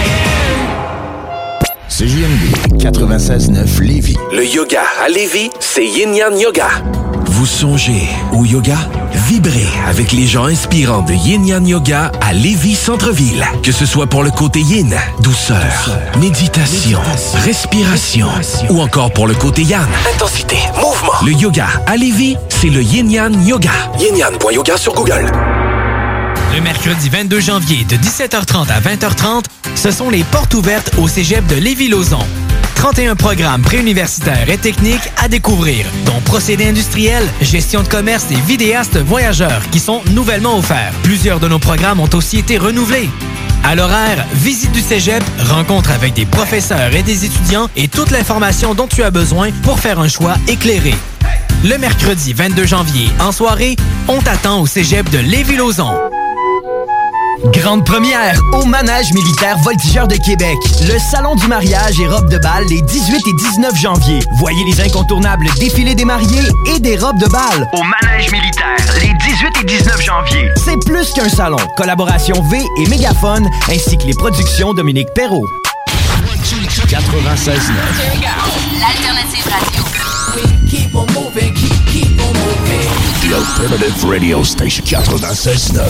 dying. CJMD 96.9 Lévis. Le yoga à Lévis, c'est Yin Yang Yoga. Vous songez au yoga? Vibrez avec les gens inspirants de Yin Yang Yoga à Lévis Centre-Ville. Que ce soit pour le côté yin, douceur, méditation, respiration, ou encore pour le côté yang, Intensité, mouvement. le yoga à Lévis, c'est le Yin Yang Yoga. Yin-Yang.yoga sur Google. Le mercredi 22 janvier de 17h30 à 20h30, ce sont les portes ouvertes au cégep de Lévis-Lauzon. 31 programmes préuniversitaires et techniques à découvrir, dont procédés industriels, gestion de commerce et vidéastes voyageurs qui sont nouvellement offerts. Plusieurs de nos programmes ont aussi été renouvelés. À l'horaire, visite du cégep, rencontre avec des professeurs et des étudiants et toute l'information dont tu as besoin pour faire un choix éclairé. Le mercredi 22 janvier, en soirée, on t'attend au cégep de Lévis-Lauzon. Grande première au Manège militaire Voltigeur de Québec. Le salon du mariage et robes de bal les 18 et 19 janvier. Voyez les incontournables défilés des mariés et des robes de bal. Au Manège militaire les 18 et 19 janvier. C'est plus qu'un salon. Collaboration V et Mégaphone ainsi que les productions Dominique Perrault. 96.9. L'alternative radio. Keep on moving, keep on moving. The Alternative Radio Station 96.9.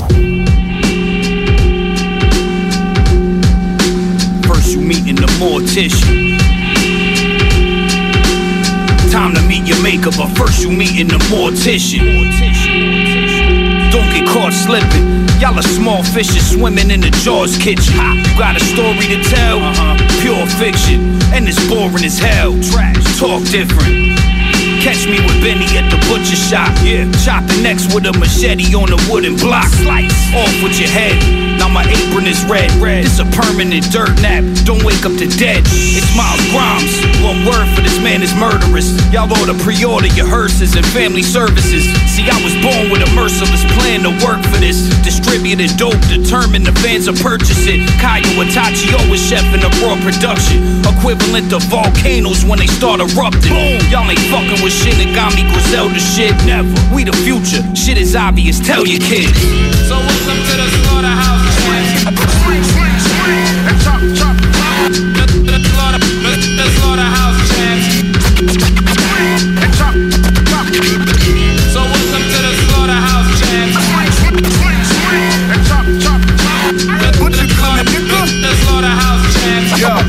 First you meeting the mortician. Time to meet your maker, but first you meeting the mortician. Don't get caught slipping. Y'all are small fishes swimming in the Jaws kitchen. You got a story to tell? Pure fiction, and it's boring as hell. Talk different. Catch me with Benny at the butcher butcher shop. Yeah, chop the necks with a machete on a wooden block. Slice off with your head. Now my apron is red. It's a permanent dirt nap. Don't wake up the dead. It's Miles Grimes. One word for this man is murderous. Y'all ought to pre-order your hearses and family services. See, I was born with a merciless plan to work for this. Distributed dope, determined the fans will purchase it. Kaya Itachi always chef in a raw production. Equivalent to volcanoes when they start erupting. Boom. Y'all ain't fucking with Shinigami Griselda shit. Never. We the future. Shit is obvious. Tell your kids. So welcome to the slaughterhouse. Swing, swing, swing, and chop, chop, chop. The slaughterhouse chance. Swing, and chop, chop. So welcome to the slaughterhouse chance. Swing, swing, swing, and chop, chop, chop. What you calling, nigga? The slaughterhouse chance.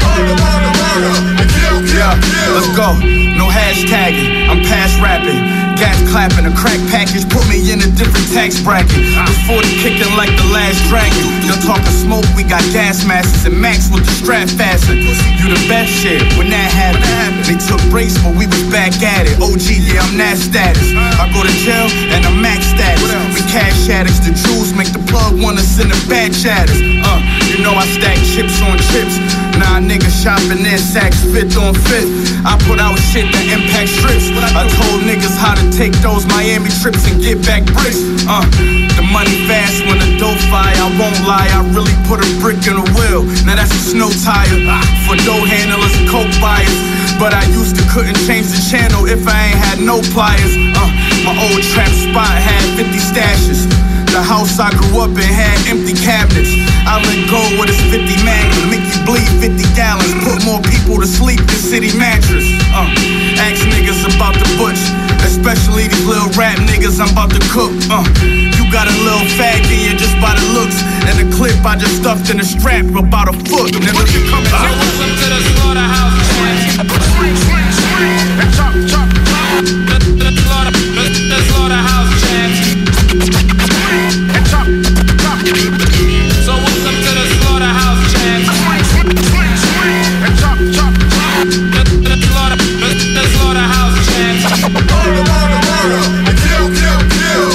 Let's go. No hashtagging. I'm past rapping. Gas clapping, a crack package put me in a different tax bracket. Was 40 kicking like the last dragon. You're talking smoke, we got gas masks and Max with the strap fastened. You the best shit when that happened. They took breaks, but we was back at it. OG, yeah, I'm that status. I go to jail and I'm max status. We cash addicts, the jewels make the plug wanna send a bad chatters. You know I stack chips on chips. Nah, niggas shopping their sacks, fifth on fifth. I put out shit that impact strips. I told niggas how to take those Miami trips and get back bricks. The money fast when the dough fire. I won't lie, I really put a brick in a wheel. Now that's a snow tire for dough handlers and coke buyers. But I used to couldn't change the channel if I ain't had no pliers. My old trap spot had 50 stashes. The house I grew up in had empty cabinets. I let go with this 50 Magnum, make you bleed 50 gallons. Put more people to sleep than City Mattress. Ask niggas about the butch, especially these little rap niggas I'm about to cook. You got a little fag in you just by the looks, and the clip I just stuffed in a strap about a foot. Niggas you coming out. Welcome to the slaughterhouse. Swing, swing, swing, and chop, chop, chop. The slaughterhouse chance. And chop, chop. So welcome to the slaughterhouse chance. Swing, swing, swing, and chop, chop, chop. The slaughterhouse chance. Murder, murder, murder, and kill, kill, kill.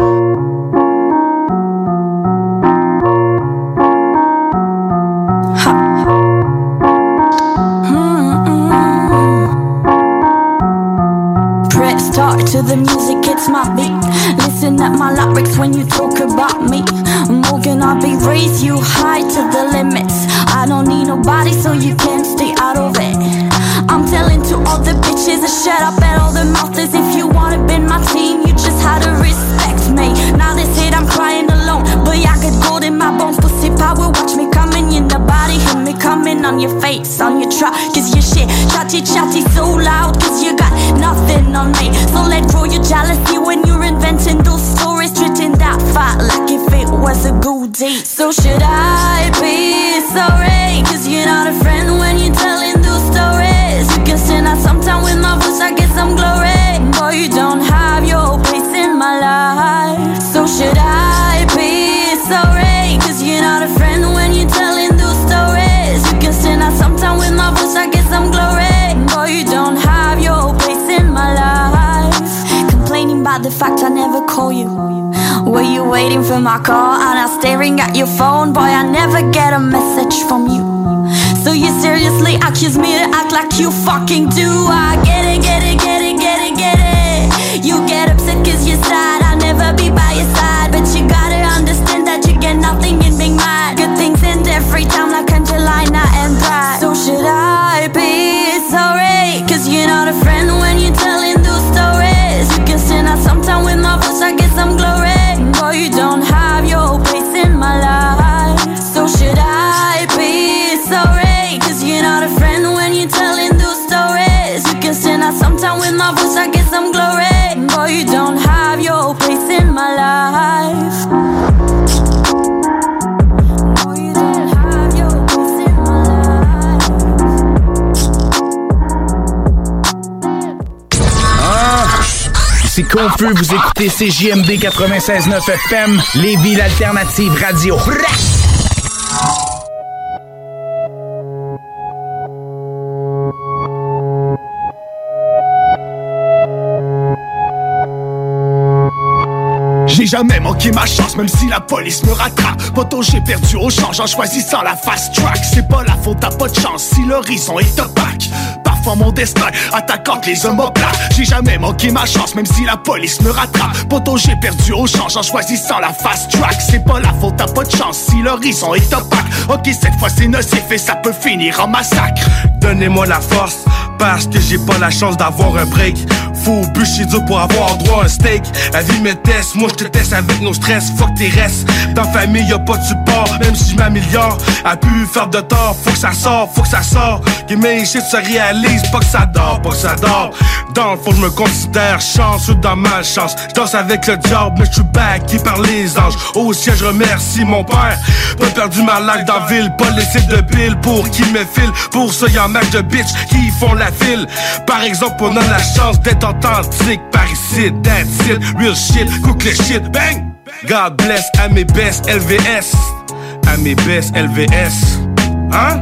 Press start to the music, it's my beat. Listen at my lyrics when you talk about me. Morgan, I'll be raised you high to the limits. I don't need nobody, so you can stay out of it. I'm telling to all the bitches to shut up at all the mouths. If you wanna be my team, you just had to respect me. Now they said I'm crying alone, but I got gold in my bones. Pussy power, watch me coming in the body. Hear me coming on your face, on your trap. Cause your shit chatty so loud. Cause you got nothing on me. So let grow your jealousy when you're inventing those stories. Treating that fight like if it was a good deed. So should I be sorry? Cause you're not a friend when you're telling those stories. You can stand out sometime with my voice, I get some glory. Boy, you don't have your place in my life. So should I be sorry? Cause you're not a friend when you're telling those stories. You can stand out sometime with my voice, I get some glory. Boy, you don't have your place in my life. Complaining about the fact I never call you. Were you waiting for my call and I'm staring at your phone? Boy, I never get a message from you. So you seriously accuse me to act like you fucking do? I get it, get it, get it, get it, get it. You get upset cause you're sad, I'll never be by your side. But you gotta understand that you get nothing in being mad. Good things end every time like Angelina and Brad. So should I be sorry? Cause you're not a friend when you're telling those stories. You can stand out sometime with my voice, I get some glory. Boy, you don't have your place in my life. So should I be sorry? Cause you're not a friend when you're telling those stories. You can stand out sometime with my voice, I get some glory. Boy, you don't have your place in my life. Boy, you don't have your place in my life. C'est confus, vous écoutez CJMD 96.9 FM, Lévis, l'alternative radio. J'ai jamais manqué ma chance, même si la police me rattrape. Poto, j'ai perdu au change en choisissant la fast track. C'est pas la faute, t'as pas de chance si l'horizon est opaque. Parfois mon destin attaquant les omoplates. J'ai jamais manqué ma chance, même si la police me rattrape. Poto, j'ai perdu au change en choisissant la fast track. C'est pas la faute, t'as pas de chance si l'horizon est opaque. Ok, cette fois c'est nocif et ça peut finir en massacre. Donnez-moi la force, parce que j'ai pas la chance d'avoir un break. Faut bûcher dur pour avoir droit à un steak. La vie me teste, moi je te teste avec nos stress. Fuck tes restes, dans la famille y'a pas de support. Même si je m'améliore, a pu faire de tort. Faut que ça sort, faut que ça sort. Que mes shit se réalisent, pas que ça dort, pas que ça dort. Dans le fond je me considère chanceux dans ma chance. Je danse avec le diable, mais je suis backé par les anges. Au ciel je remercie mon père. Pas perdu ma life dans la ville, pas laissé de bill pour qui me file. Pour ça y'en a de bitch qui font la file. Par exemple on a la chance d'être authentique par ici, that's it, real shit, cook le shit, bang! God bless à mes best LVS, à mes best LVS, hein?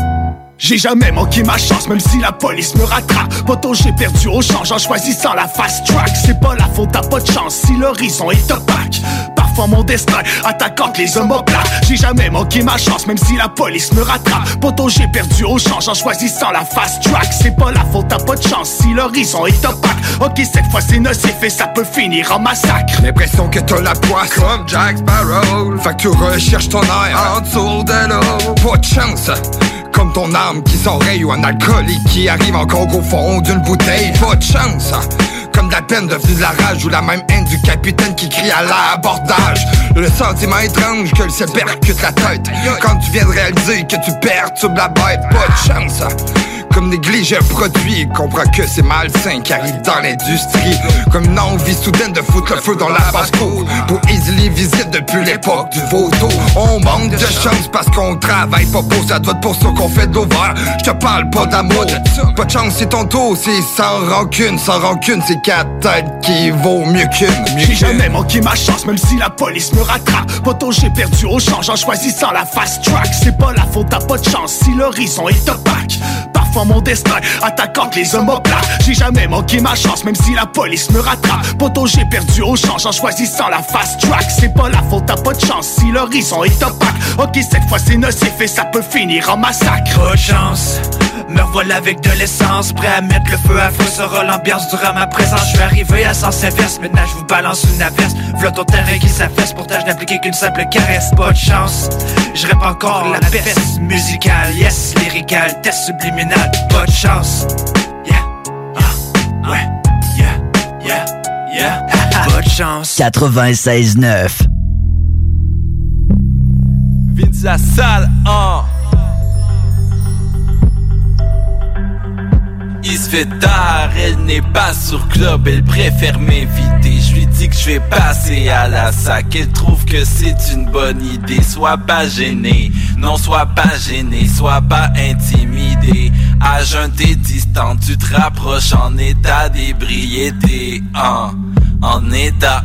J'ai jamais manqué ma chance, même si la police me rattrape. Poto, j'ai perdu au change en choisissant la fast track. C'est pas la faute, t'as pas de chance si l'horizon est opaque. Parfois mon destin attaquant les omoplates. J'ai jamais manqué ma chance, même si la police me rattrape. Poto, j'ai perdu au change en choisissant la fast track. C'est pas la faute, t'as pas de chance si l'horizon est opaque. Ok, cette fois c'est nocif et ça peut finir en massacre. L'impression que t'as la poisse comme Jack Sparrow. Fait que tu recherches ton air en dessous de l'eau. Pas de chance, comme ton âme qui s'enraye ou un alcoolique qui arrive encore au fond d'une bouteille. Pas de chance, comme de la peine devenue de la rage ou la même haine du capitaine qui crie à l'abordage. Le sentiment étrange que le ciel percute la tête quand tu viens de réaliser que tu perturbes la bête. Pas de chance, comme négliger un produit, comprends que c'est malsain qui arrive dans l'industrie. Comme une envie soudaine de foutre le feu dans la basse-cour pour easily visite depuis l'époque du vautour. On manque de chance parce qu'on travaille pas pour ça, doit être pour ça qu'on fait de l'ouvert. Je te parle pas d'amour, pas de chance c'est ton tour, c'est sans rancune c'est 4 têtes qui vaut mieux qu'une. J'ai jamais manqué ma chance, même si la police me rattrape. Poto, j'ai perdu au change en choisissant la fast track. C'est pas la faute, t'as pas de chance si l'horizon est opaque. Parfois mon destin attaquant les omoplates. J'ai jamais manqué ma chance, même si la police me rattrape. Poto, j'ai perdu au change en choisissant la fast track. C'est pas la faute, t'as pas de chance si l'horizon est opaque. Ok, cette fois c'est nocif et ça peut finir en massacre. Pas de chance, me revoilà avec de l'essence, prêt à mettre le feu à feu, sera l'ambiance durant ma présence. Je suis arrivé à sens inverse, maintenant je vous balance une averse. V'là ton terrain qui s'affaisse, pourtant je n'appliquais qu'une simple caresse. Pas de chance, je rêve encore la peste musicale, yes, lyrical, test subliminal. Pas de chance, yeah, ouais, yeah, pas de chance. 96.9 Vince la salle, Il se fait tard, elle n'est pas sur club, elle préfère m'inviter. Je lui dis que je vais passer à la sac, elle trouve que c'est une bonne idée. Sois pas gêné, non sois pas gêné, sois pas intimidé. À jeun t'es distant, tu te rapproches en état d'ébriété. En état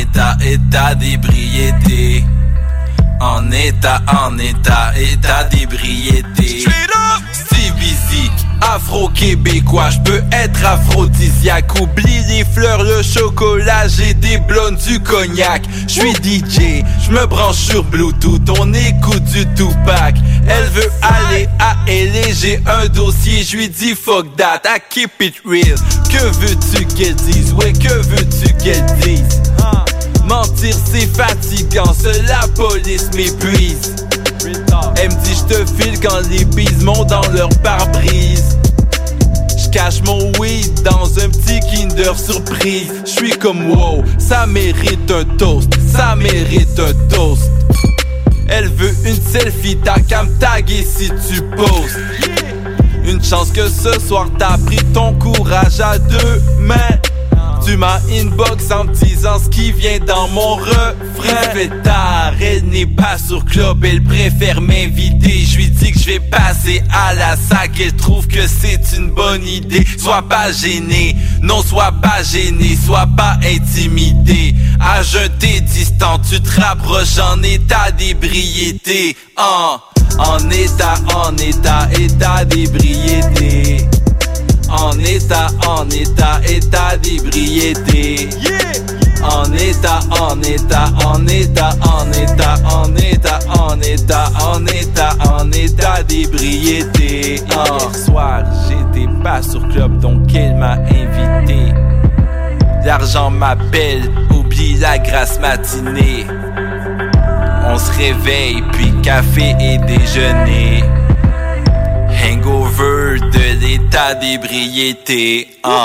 d'ébriété. En état d'ébriété. Steve Easy, afro-québécois, je peux être aphrodisiaque. Oublie les fleurs, le chocolat, j'ai des blondes, du cognac. Je suis DJ, je me branche sur Bluetooth, on écoute du Tupac. Elle veut aller à LA, j'ai un dossier, je lui dis fuck that, I keep it real. Que veux-tu qu'elle dise, ouais que veux-tu qu'elle dise? Mentir c'est fatigant, seule la police m'épuise. Elle me dit j'te file quand les bises montent dans leur pare-brise. J'cache mon weed dans un petit Kinder Surprise. J'suis comme wow, ça mérite un toast, ça mérite un toast. Elle veut une selfie, t'as qu'à me taguer si tu postes. Une chance que ce soir t'as pris ton courage à deux mains. Tu m'as inbox en me disant ce qui vient dans mon refrain. Il fait tard, elle n'est pas sur club, elle préfère m'inviter. Je lui dis que je vais passer à la sac, elle trouve que c'est une bonne idée. Sois pas gêné, non sois pas gêné, sois pas intimidé. À jeun t'es distant, tu te rapproches en état d'ébriété. En état d'ébriété. En état d'ébriété. En état, en état, en état, en état, en état, en état, en état, en état d'ébriété. Hier soir, j'étais pas sur club, donc elle m'a invité. L'argent m'appelle, oublie la grasse matinée. On se réveille, puis café et déjeuner. Hangover de l'état d'ébriété.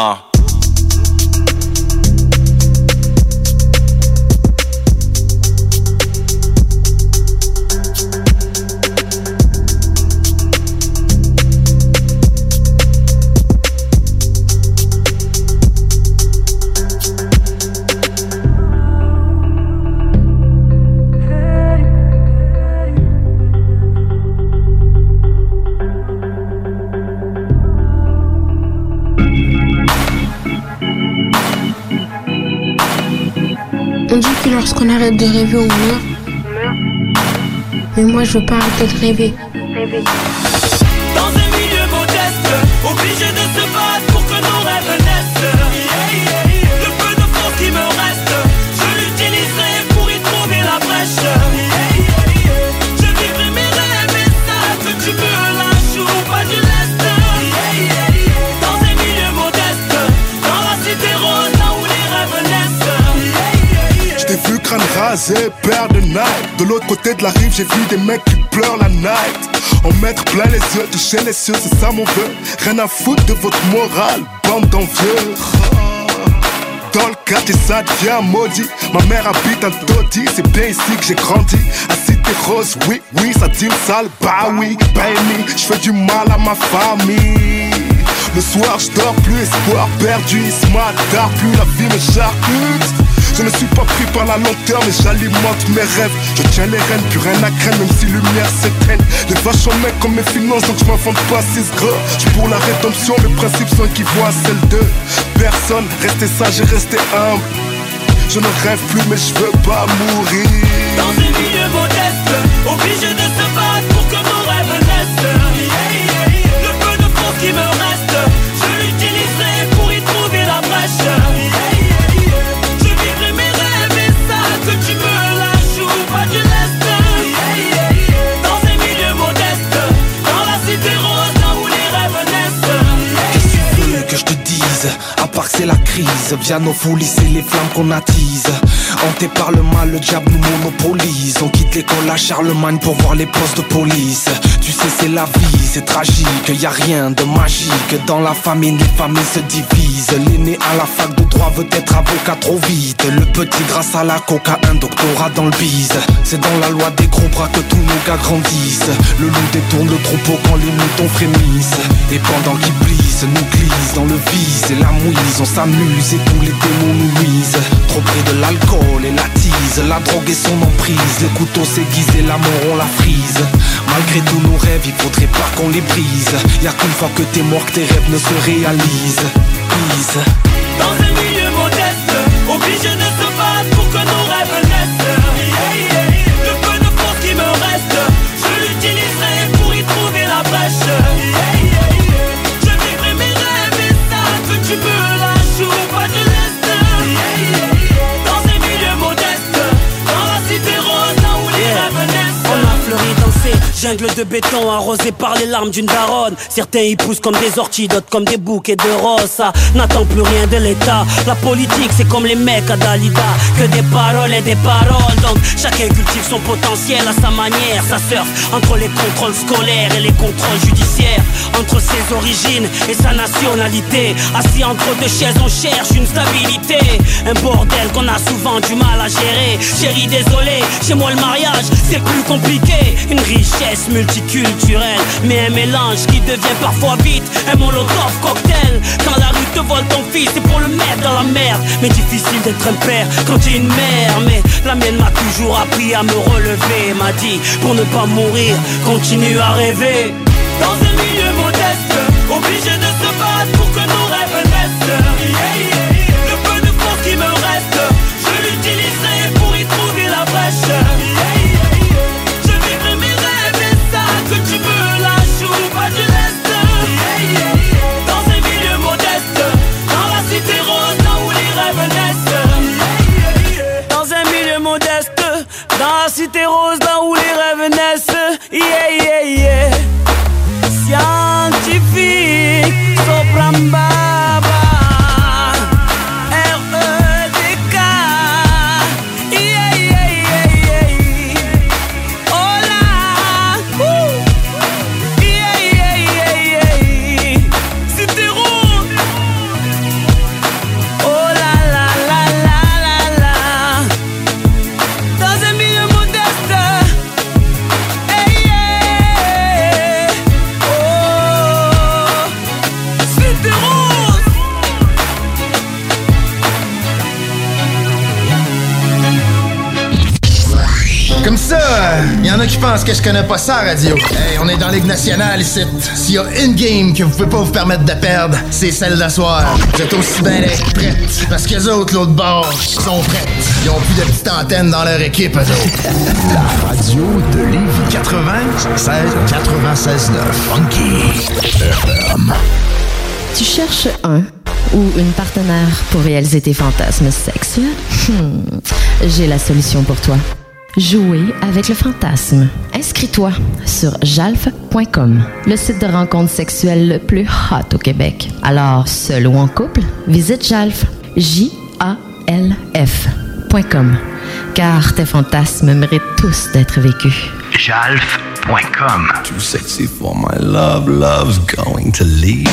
On dit que lorsqu'on arrête de rêver, on meurt. Mais moi, je veux pas arrêter de rêver. Dans un milieu modeste, obligé de se battre pour que nos rêves naissent. Le peu de force qui me reste, je l'utiliserai pour y trouver la brèche. Je vivrai mes rêves et ça, que tu me lâches ou pas du lest. Dans un milieu modeste, dans la cité rose, là où les rêves naissent. J't'ai vu crâne rasé, paire de Nike. De l'autre côté de la rive, j'ai vu des mecs qui pleurent la night. En mettre plein les yeux, toucher les cieux, c'est ça mon vœu. Rien à foutre de votre morale, bande d'envieux. Dans le quartier ça devient maudit. Ma mère habite à Dodi, c'est bien ici que j'ai grandi. À Cité Rose, oui, oui, ça dit le sale, bah oui, baby. J'fais du mal à ma famille. Le soir j'dors plus, espoir perdu. Il se m'attarde plus, la vie me charcute. Je ne suis pas pris par la lenteur, mais j'alimente mes rêves. Je tiens les rênes, plus rien à craindre, même si lumière s'éteigne. Les vaches en mec comme mes finances, donc je m'invente pas 6 gras. J'suis pour la rédemption, mes principes sont équivalents à celles de personne. Restez sage et restez humble. Je ne rêve plus, mais je veux pas mourir. Dans un milieu modeste, obligé de se battre pour que nos rêves naissent. Le peu de force qui me reste, je l'utiliserai pour y trouver la brèche. Que tu me lâches ou pas du lest. Dans un milieu modeste, dans la cité rose, là où les rêves naissent. Qu'est-ce que tu veux que je te dise? À part que c'est la crise, via nos folies, c'est les flammes qu'on attise. Hanté par le mal, le diable nous monopolise. On quitte l'école à Charlemagne pour voir les postes de police. Tu sais c'est la vie, c'est tragique, y a rien de magique. Dans la famille, les familles se divisent. L'aîné à la fac de droit veut être avocat trop vite. Le petit grâce à la coca, un doctorat dans le bise. C'est dans la loi des gros bras que tous nos gars grandissent. Le loup détourne le troupeau quand les moutons frémissent. Et pendant qu'ils plissent, nous glissent dans le vice et la mouise. On s'amuse et tous les démons nous nuisent. Trop près de l'alcool et la tease, la drogue et son emprise. Les couteaux s'aiguisent et la mort on la frise. Malgré tous nos rêves, il faudrait pas qu'on les brise. Y'a qu'une fois que t'es mort que tes rêves ne se réalisent. Please. Dans un milieu modeste, obligé de se battre pour que nos rêves naissent. Le peu de force qui me reste, je l'utiliserai pour y trouver la brèche. Je vivrai mes rêves et ça, que tu me lâches ou pas du lest. Dans un milieu modeste, dans la cité rose, là où les rêves naissent. On a fleuri dans ces jungles de béton arrosés par les larmes d'une daronne. Certains y poussent comme des orties, d'autres comme des bouquets de roses. Ça n'attend plus rien de l'État. La politique c'est comme les mecs à Dalida, que des paroles et des paroles. Donc chacun cultive son potentiel à sa manière. Ça surfe entre les contrôles scolaires et les contrôles judiciaires, entre ses origines et sa nationalité. Assis entre deux chaises on cherche une stabilité. Un bordel qu'on a souvent du mal à gérer. Chérie désolé, chez moi le mariage c'est plus compliqué. Une richesse multiculturelle, mais un mélange qui devient parfois vite un molotov cocktail. Quand la rue te vole ton fils, c'est pour le mettre dans la merde. Mais difficile d'être un père quand t'es une mère. Mais la mienne m'a toujours appris à me relever. M'a dit, pour ne pas mourir, continue à rêver. Dans un milieu modeste, obligé de se battre pour que nos rêves naissent. Le peu de force qui me reste, je l'utiliserai pour y trouver la brèche. Que tu me lâches ou pas du lest. Dans un milieu modeste, dans la cité rose, là où les rêves naissent. a qui pensent que je connais pas ça, radio. Hey, on est dans Ligue nationale ici. S'il y a une game que vous pouvez pas vous permettre de perdre, c'est celle d'asseoir. Vous êtes aussi bien d'être prêtes. Parce qu'eux autres, l'autre bord, sont prêtes. Ils ont plus de petites antennes dans leur équipe, eux autres. La radio de Lévis 96.9 Funky FM. Tu cherches un ou une partenaire pour réaliser tes fantasmes sexuels? J'ai la solution pour toi. Jouer avec le fantasme. Inscris-toi sur jalf.com, le site de rencontre sexuelle le plus hot au Québec. Alors, seul ou en couple, visite Jalf, JALF.com, car tes fantasmes méritent tous d'être vécus. Jalf.com. Too sexy for my love, love's going to leave.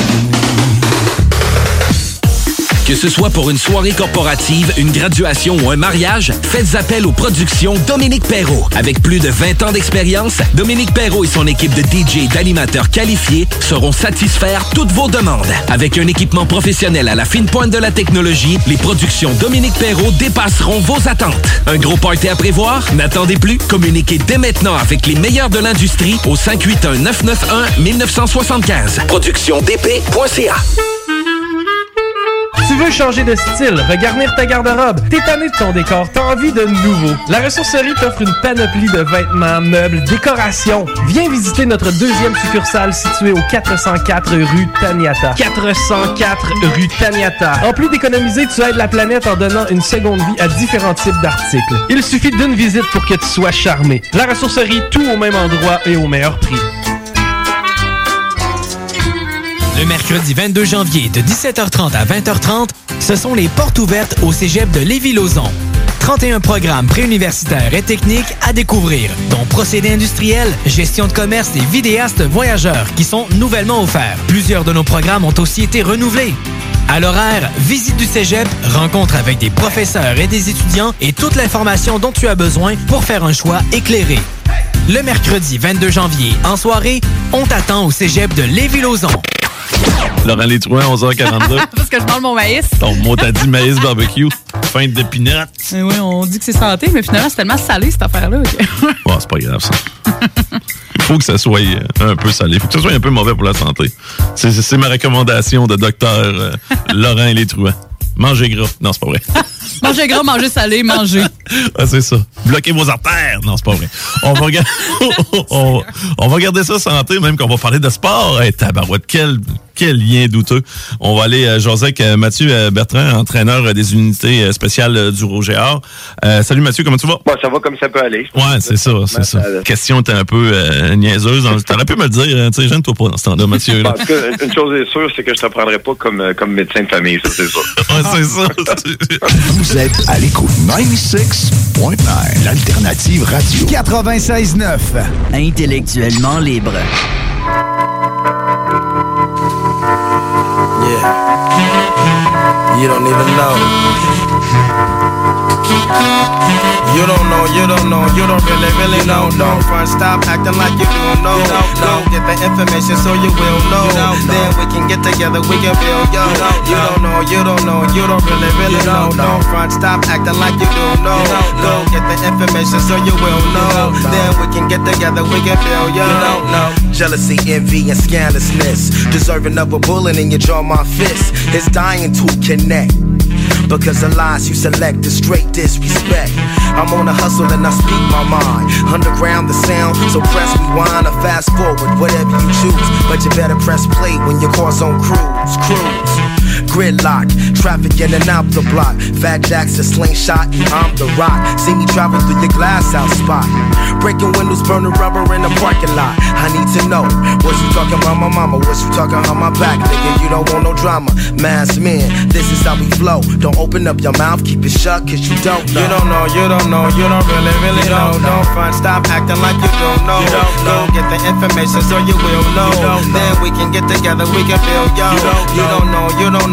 Que ce soit pour une soirée corporative, une graduation ou un mariage, faites appel aux productions Dominique Perrault. Avec plus de 20 ans d'expérience, Dominique Perrault et son équipe de DJ et d'animateurs qualifiés sauront satisfaire toutes vos demandes. Avec un équipement professionnel à la fine pointe de la technologie, les productions Dominique Perrault dépasseront vos attentes. Un gros party à prévoir? N'attendez plus. Communiquez dès maintenant avec les meilleurs de l'industrie au 581-991-1975. Productiondp.ca. Tu veux changer de style, regarnir ta garde-robe, t'es tanné de ton décor, t'as envie de nouveau. La ressourcerie t'offre une panoplie de vêtements, meubles, décorations. Viens visiter notre deuxième succursale située au 404 rue Taniata. 404 rue Taniata. En plus d'économiser, tu aides la planète en donnant une seconde vie à différents types d'articles. Il suffit d'une visite pour que tu sois charmé. La ressourcerie, tout au même endroit et au meilleur prix. Le mercredi 22 janvier de 17h30 à 20h30, ce sont les portes ouvertes au cégep de Lévis-Lauzon. 31 programmes préuniversitaires et techniques à découvrir, dont procédés industriels, gestion de commerce et vidéastes voyageurs qui sont nouvellement offerts. Plusieurs de nos programmes ont aussi été renouvelés. À l'horaire, visite du cégep, rencontre avec des professeurs et des étudiants et toute l'information dont tu as besoin pour faire un choix éclairé. Le mercredi 22 janvier, en soirée, on t'attend au cégep de Lévis-Lauzon. Laurent Létrouin, 11h42. Parce que je parle mon maïs. Ton mot t'a dit maïs barbecue, feinte d'épinards. Oui, on dit que c'est santé, mais finalement, c'est tellement salé, cette affaire-là. Okay. Bon, c'est pas grave, ça. Il faut que ça soit un peu salé. Il faut que ça soit un peu mauvais pour la santé. C'est ma recommandation de docteur Laurent Létrouin. Mangez gras. Non, c'est pas vrai. Mangez gras, mangez salé, mangez. Ah, c'est ça. Bloquez vos artères. Non, c'est pas vrai. On va regarder, on va regarder ça santé, même qu'on va parler de sport. Hey, tabarouette, quel lien douteux. On va aller jaser avec Mathieu Bertrand, entraîneur des unités spéciales du Rouge-et-Or. Salut Mathieu, comment tu vas? Bon, ça va comme ça peut aller. Ouais, c'est ça, c'est ça. La question était un peu niaiseuse. T'aurais pu me le dire, tu sais, gêne-toi pas dans ce temps-là, Mathieu. Là. En tout cas, une chose est sûre, c'est que je te prendrai pas comme médecin de famille, ça, c'est sûr. Ouais, c'est ça. Vous êtes à l'écoute 96.9, l'alternative radio. 96.9, intellectuellement libre. Yeah. You don't even know. You don't know, you don't know, you don't really know. Don't front, stop acting like you don't know. Go get the information so you will know. Then we can get together, we can build, yo. You don't know, you don't know, you don't really know. Don't front, stop acting like you don't know. Go get the information so you will know. Then we can get together, we can build, yo. Jealousy, envy, and scandalousness, deserving of a bullet in your jaw, my fist is dying to connect. Because the lies you select is straight disrespect. I'm on a hustle and I speak my mind. Underground the sound, so press rewind or fast forward, whatever you choose. But you better press play when your car's on cruise. Gridlock, traffic in and out the block. Fat Jacks a slingshot, I'm the rock. See me travel through your glass house spot. Breaking windows, burning rubber in the parking lot. I need to know, was you talking about my mama? Was you talking about my back? Nigga, you don't want no drama. Mass men, this is how we flow. Don't open up your mouth, keep it shut, cause you don't know. You don't know, you don't know, you don't really know. Don't front, stop acting like you don't know. Go get the information so you will know. Then we can get together, we can build, yo. You don't know, you don't know.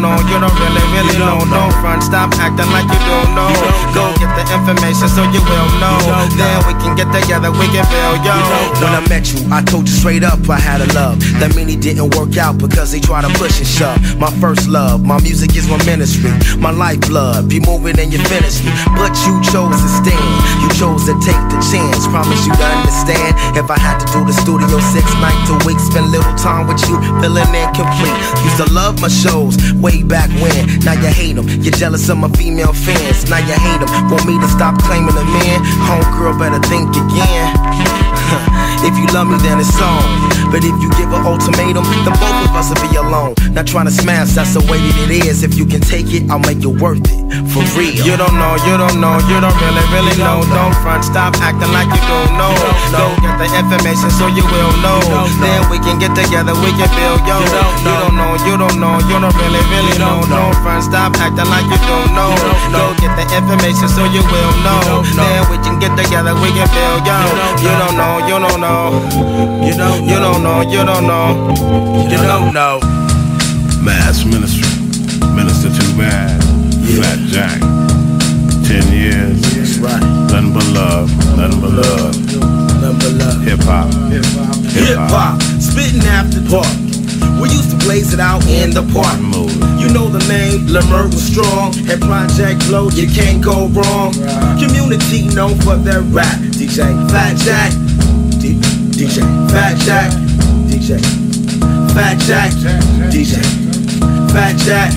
know, you don't really know. Don't front, stop acting like you don't know. Go get the information so you will know. Then we can get together, we can build, yo. When I met you, I told you straight up I had a love. That mean it didn't work out because they try to push and shove. My first love, my music is my ministry. My lifeblood, be moving and you finish me. But you chose to stand, you chose to take the chance. Promise you to understand. If I had to do the studio 6 nights a week, spend little time with you, feeling incomplete. Used to love my shows way back when. Now you hate them, you're jealous of my female fans. Now you hate them, want me to stop claiming a man. Homegirl better think again. If you love me then it's on. But if you give an ultimatum, then both of us will be alone. Not trying to smash, that's the way that it is. If you can take it, I'll make it worth it. For real. You don't know, you don't know, you don't really know. Don't front, stop acting like you don't know. Go get the information so you will know. Then we can get together, we can build, yo. You don't know, you don't know, you don't really know. Don't front, stop acting like you don't know. Go get the information so you will know. Then we can get together, we can build, yo. You don't know, you don't know. You don't know, you don't know. You don't know. Mass Ministry, Minister Too Bad, Fat Jack, 10 years, that's right. Nothing but love, nothing but love, nothing but love. Hip hop, hip hop, spitting after dark. We used to blaze it out in the park. You know the name, Lemur was strong. At Project Flow, you can't go wrong. Community known for their rap. DJ Fat Jack, DJ Fat Jack, DJ Fat Jack, DJ Fat Jack.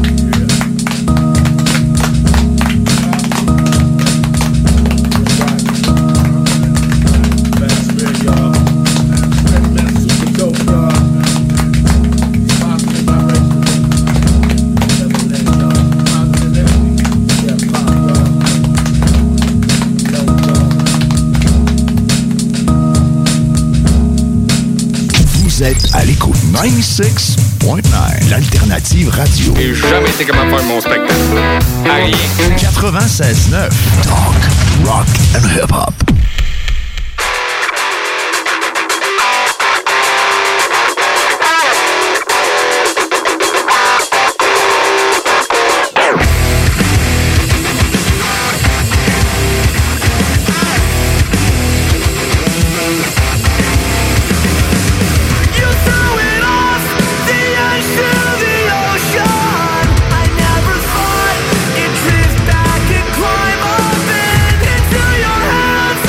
Vous êtes à l'écoute 96.9, l'alternative radio. J'ai jamais été capable de faire mon spectacle. À rien. 96.9, talk, rock and hip-hop. Climb up into your hands.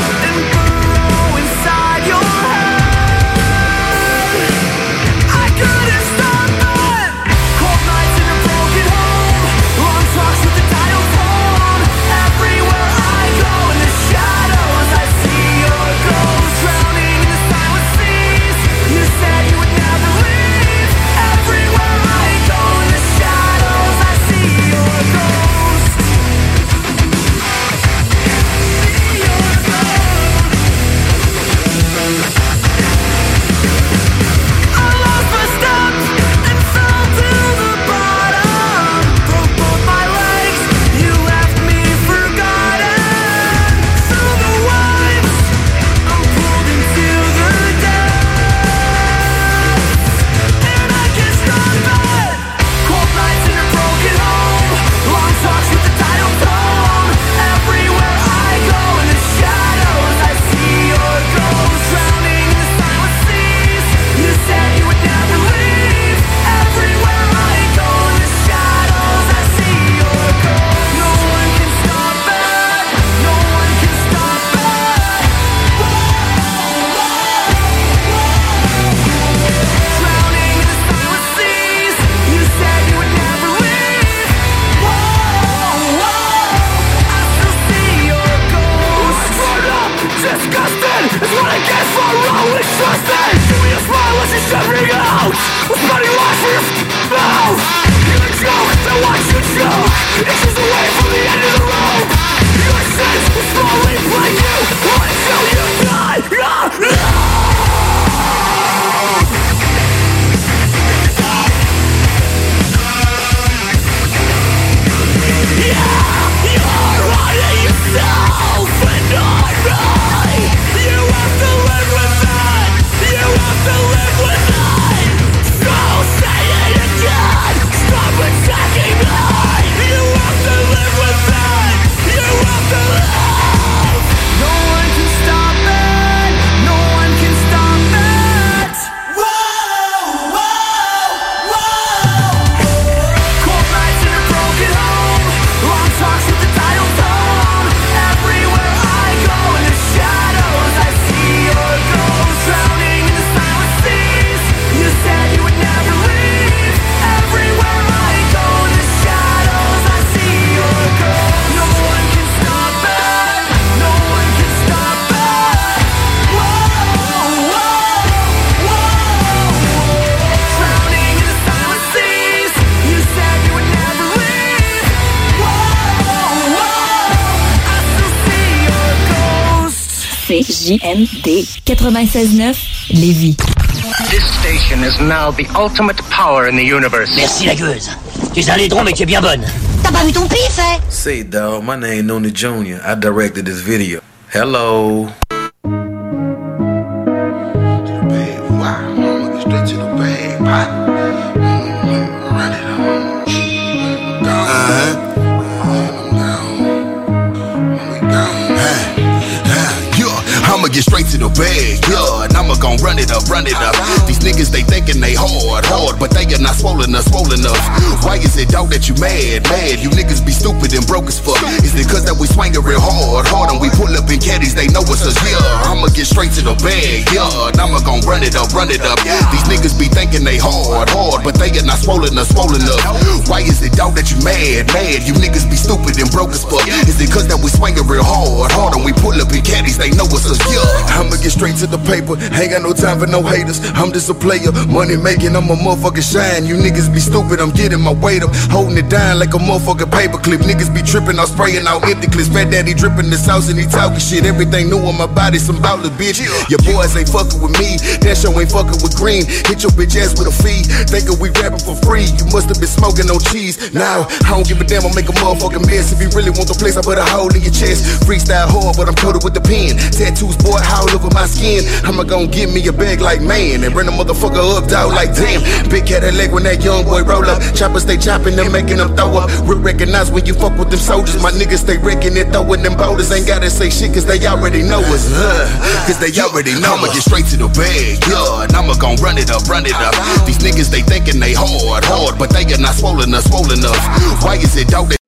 CJMD 96.9 Lévis. This station is now the ultimate power in the universe. Merci la gueuse. Tu es un laidron mais tu es bien bonne. T'as pas vu ton pif, hein? Say, dawg, my name Noni Jr. I directed this video. Hello. Straight to the bag, pot. Run it I'ma get straight to the bag, yeah, and I'ma gon' run it up. These niggas, they thinking they hard, but they are not swollen enough. Why is it, dog, that you mad? You niggas be stupid and broke as fuck. Is it cause that we swingin' real hard, and we pull up in caddies, they know it's us, yeah. I'ma get straight to the bag, yeah, and I'ma gon' run it up. These niggas be thinking they hard, but they are not swollen enough. Why is it, dog, that you mad? You niggas be stupid and broke as fuck. Is it cause that we swingin' real hard, and we pull up in caddies, they know it's us, yeah. I'ma get straight to the paper, ain't got no time for no haters. I'm just a player, money making, I'm a motherfucking shine. You niggas be stupid, I'm getting my weight up, holding it down like a motherfucking paperclip. Niggas be tripping, I'm spraying out empty clips. Fat daddy dripping the sauce and he talking shit. Everything new on my body, some baller, bitch. Your boys ain't fucking with me, that show ain't fucking with green. Hit your bitch ass with a fee, thinking we rapping for free. You must have been smoking on cheese. Now, I don't give a damn, I make a motherfucking mess. If you really want the place, I put a hole in your chest. Freestyle hard, but I'm coated with the pen. Tattoos, boy, all over my skin. I'ma gon' give me a bag like man and bring a motherfucker up, dog, like damn. Big Cadillac when that young boy roll up. Choppers stay chopping them, making them throw up. Real recognize when you fuck with them soldiers. My niggas stay wrecking it, throwing them boulders. Ain't gotta say shit cause they already know us. Cause they already know I'ma get straight to the bag, yeah, and I'ma gon' run it up. These niggas, they thinking they hard, but they are not swollen enough. Why is it, dog, that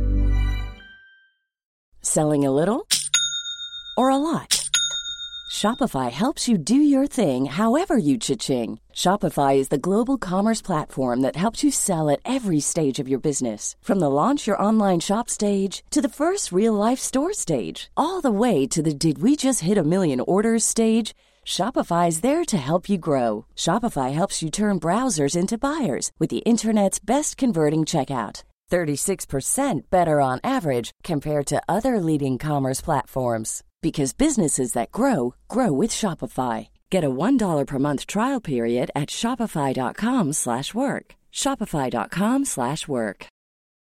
Selling a little or a lot? Shopify helps you do your thing however you cha-ching. Shopify is the global commerce platform that helps you sell at every stage of your business. From the launch your online shop stage to the first real-life store stage, all the way to the did we just hit a million orders stage. Shopify's there to help you grow. Shopify helps you turn browsers into buyers with the internet's best converting checkout. 36% better on average compared to other leading commerce platforms. Because businesses that grow with Shopify. Get a $1 per month trial period at shopify.com/work. Shopify.com/work.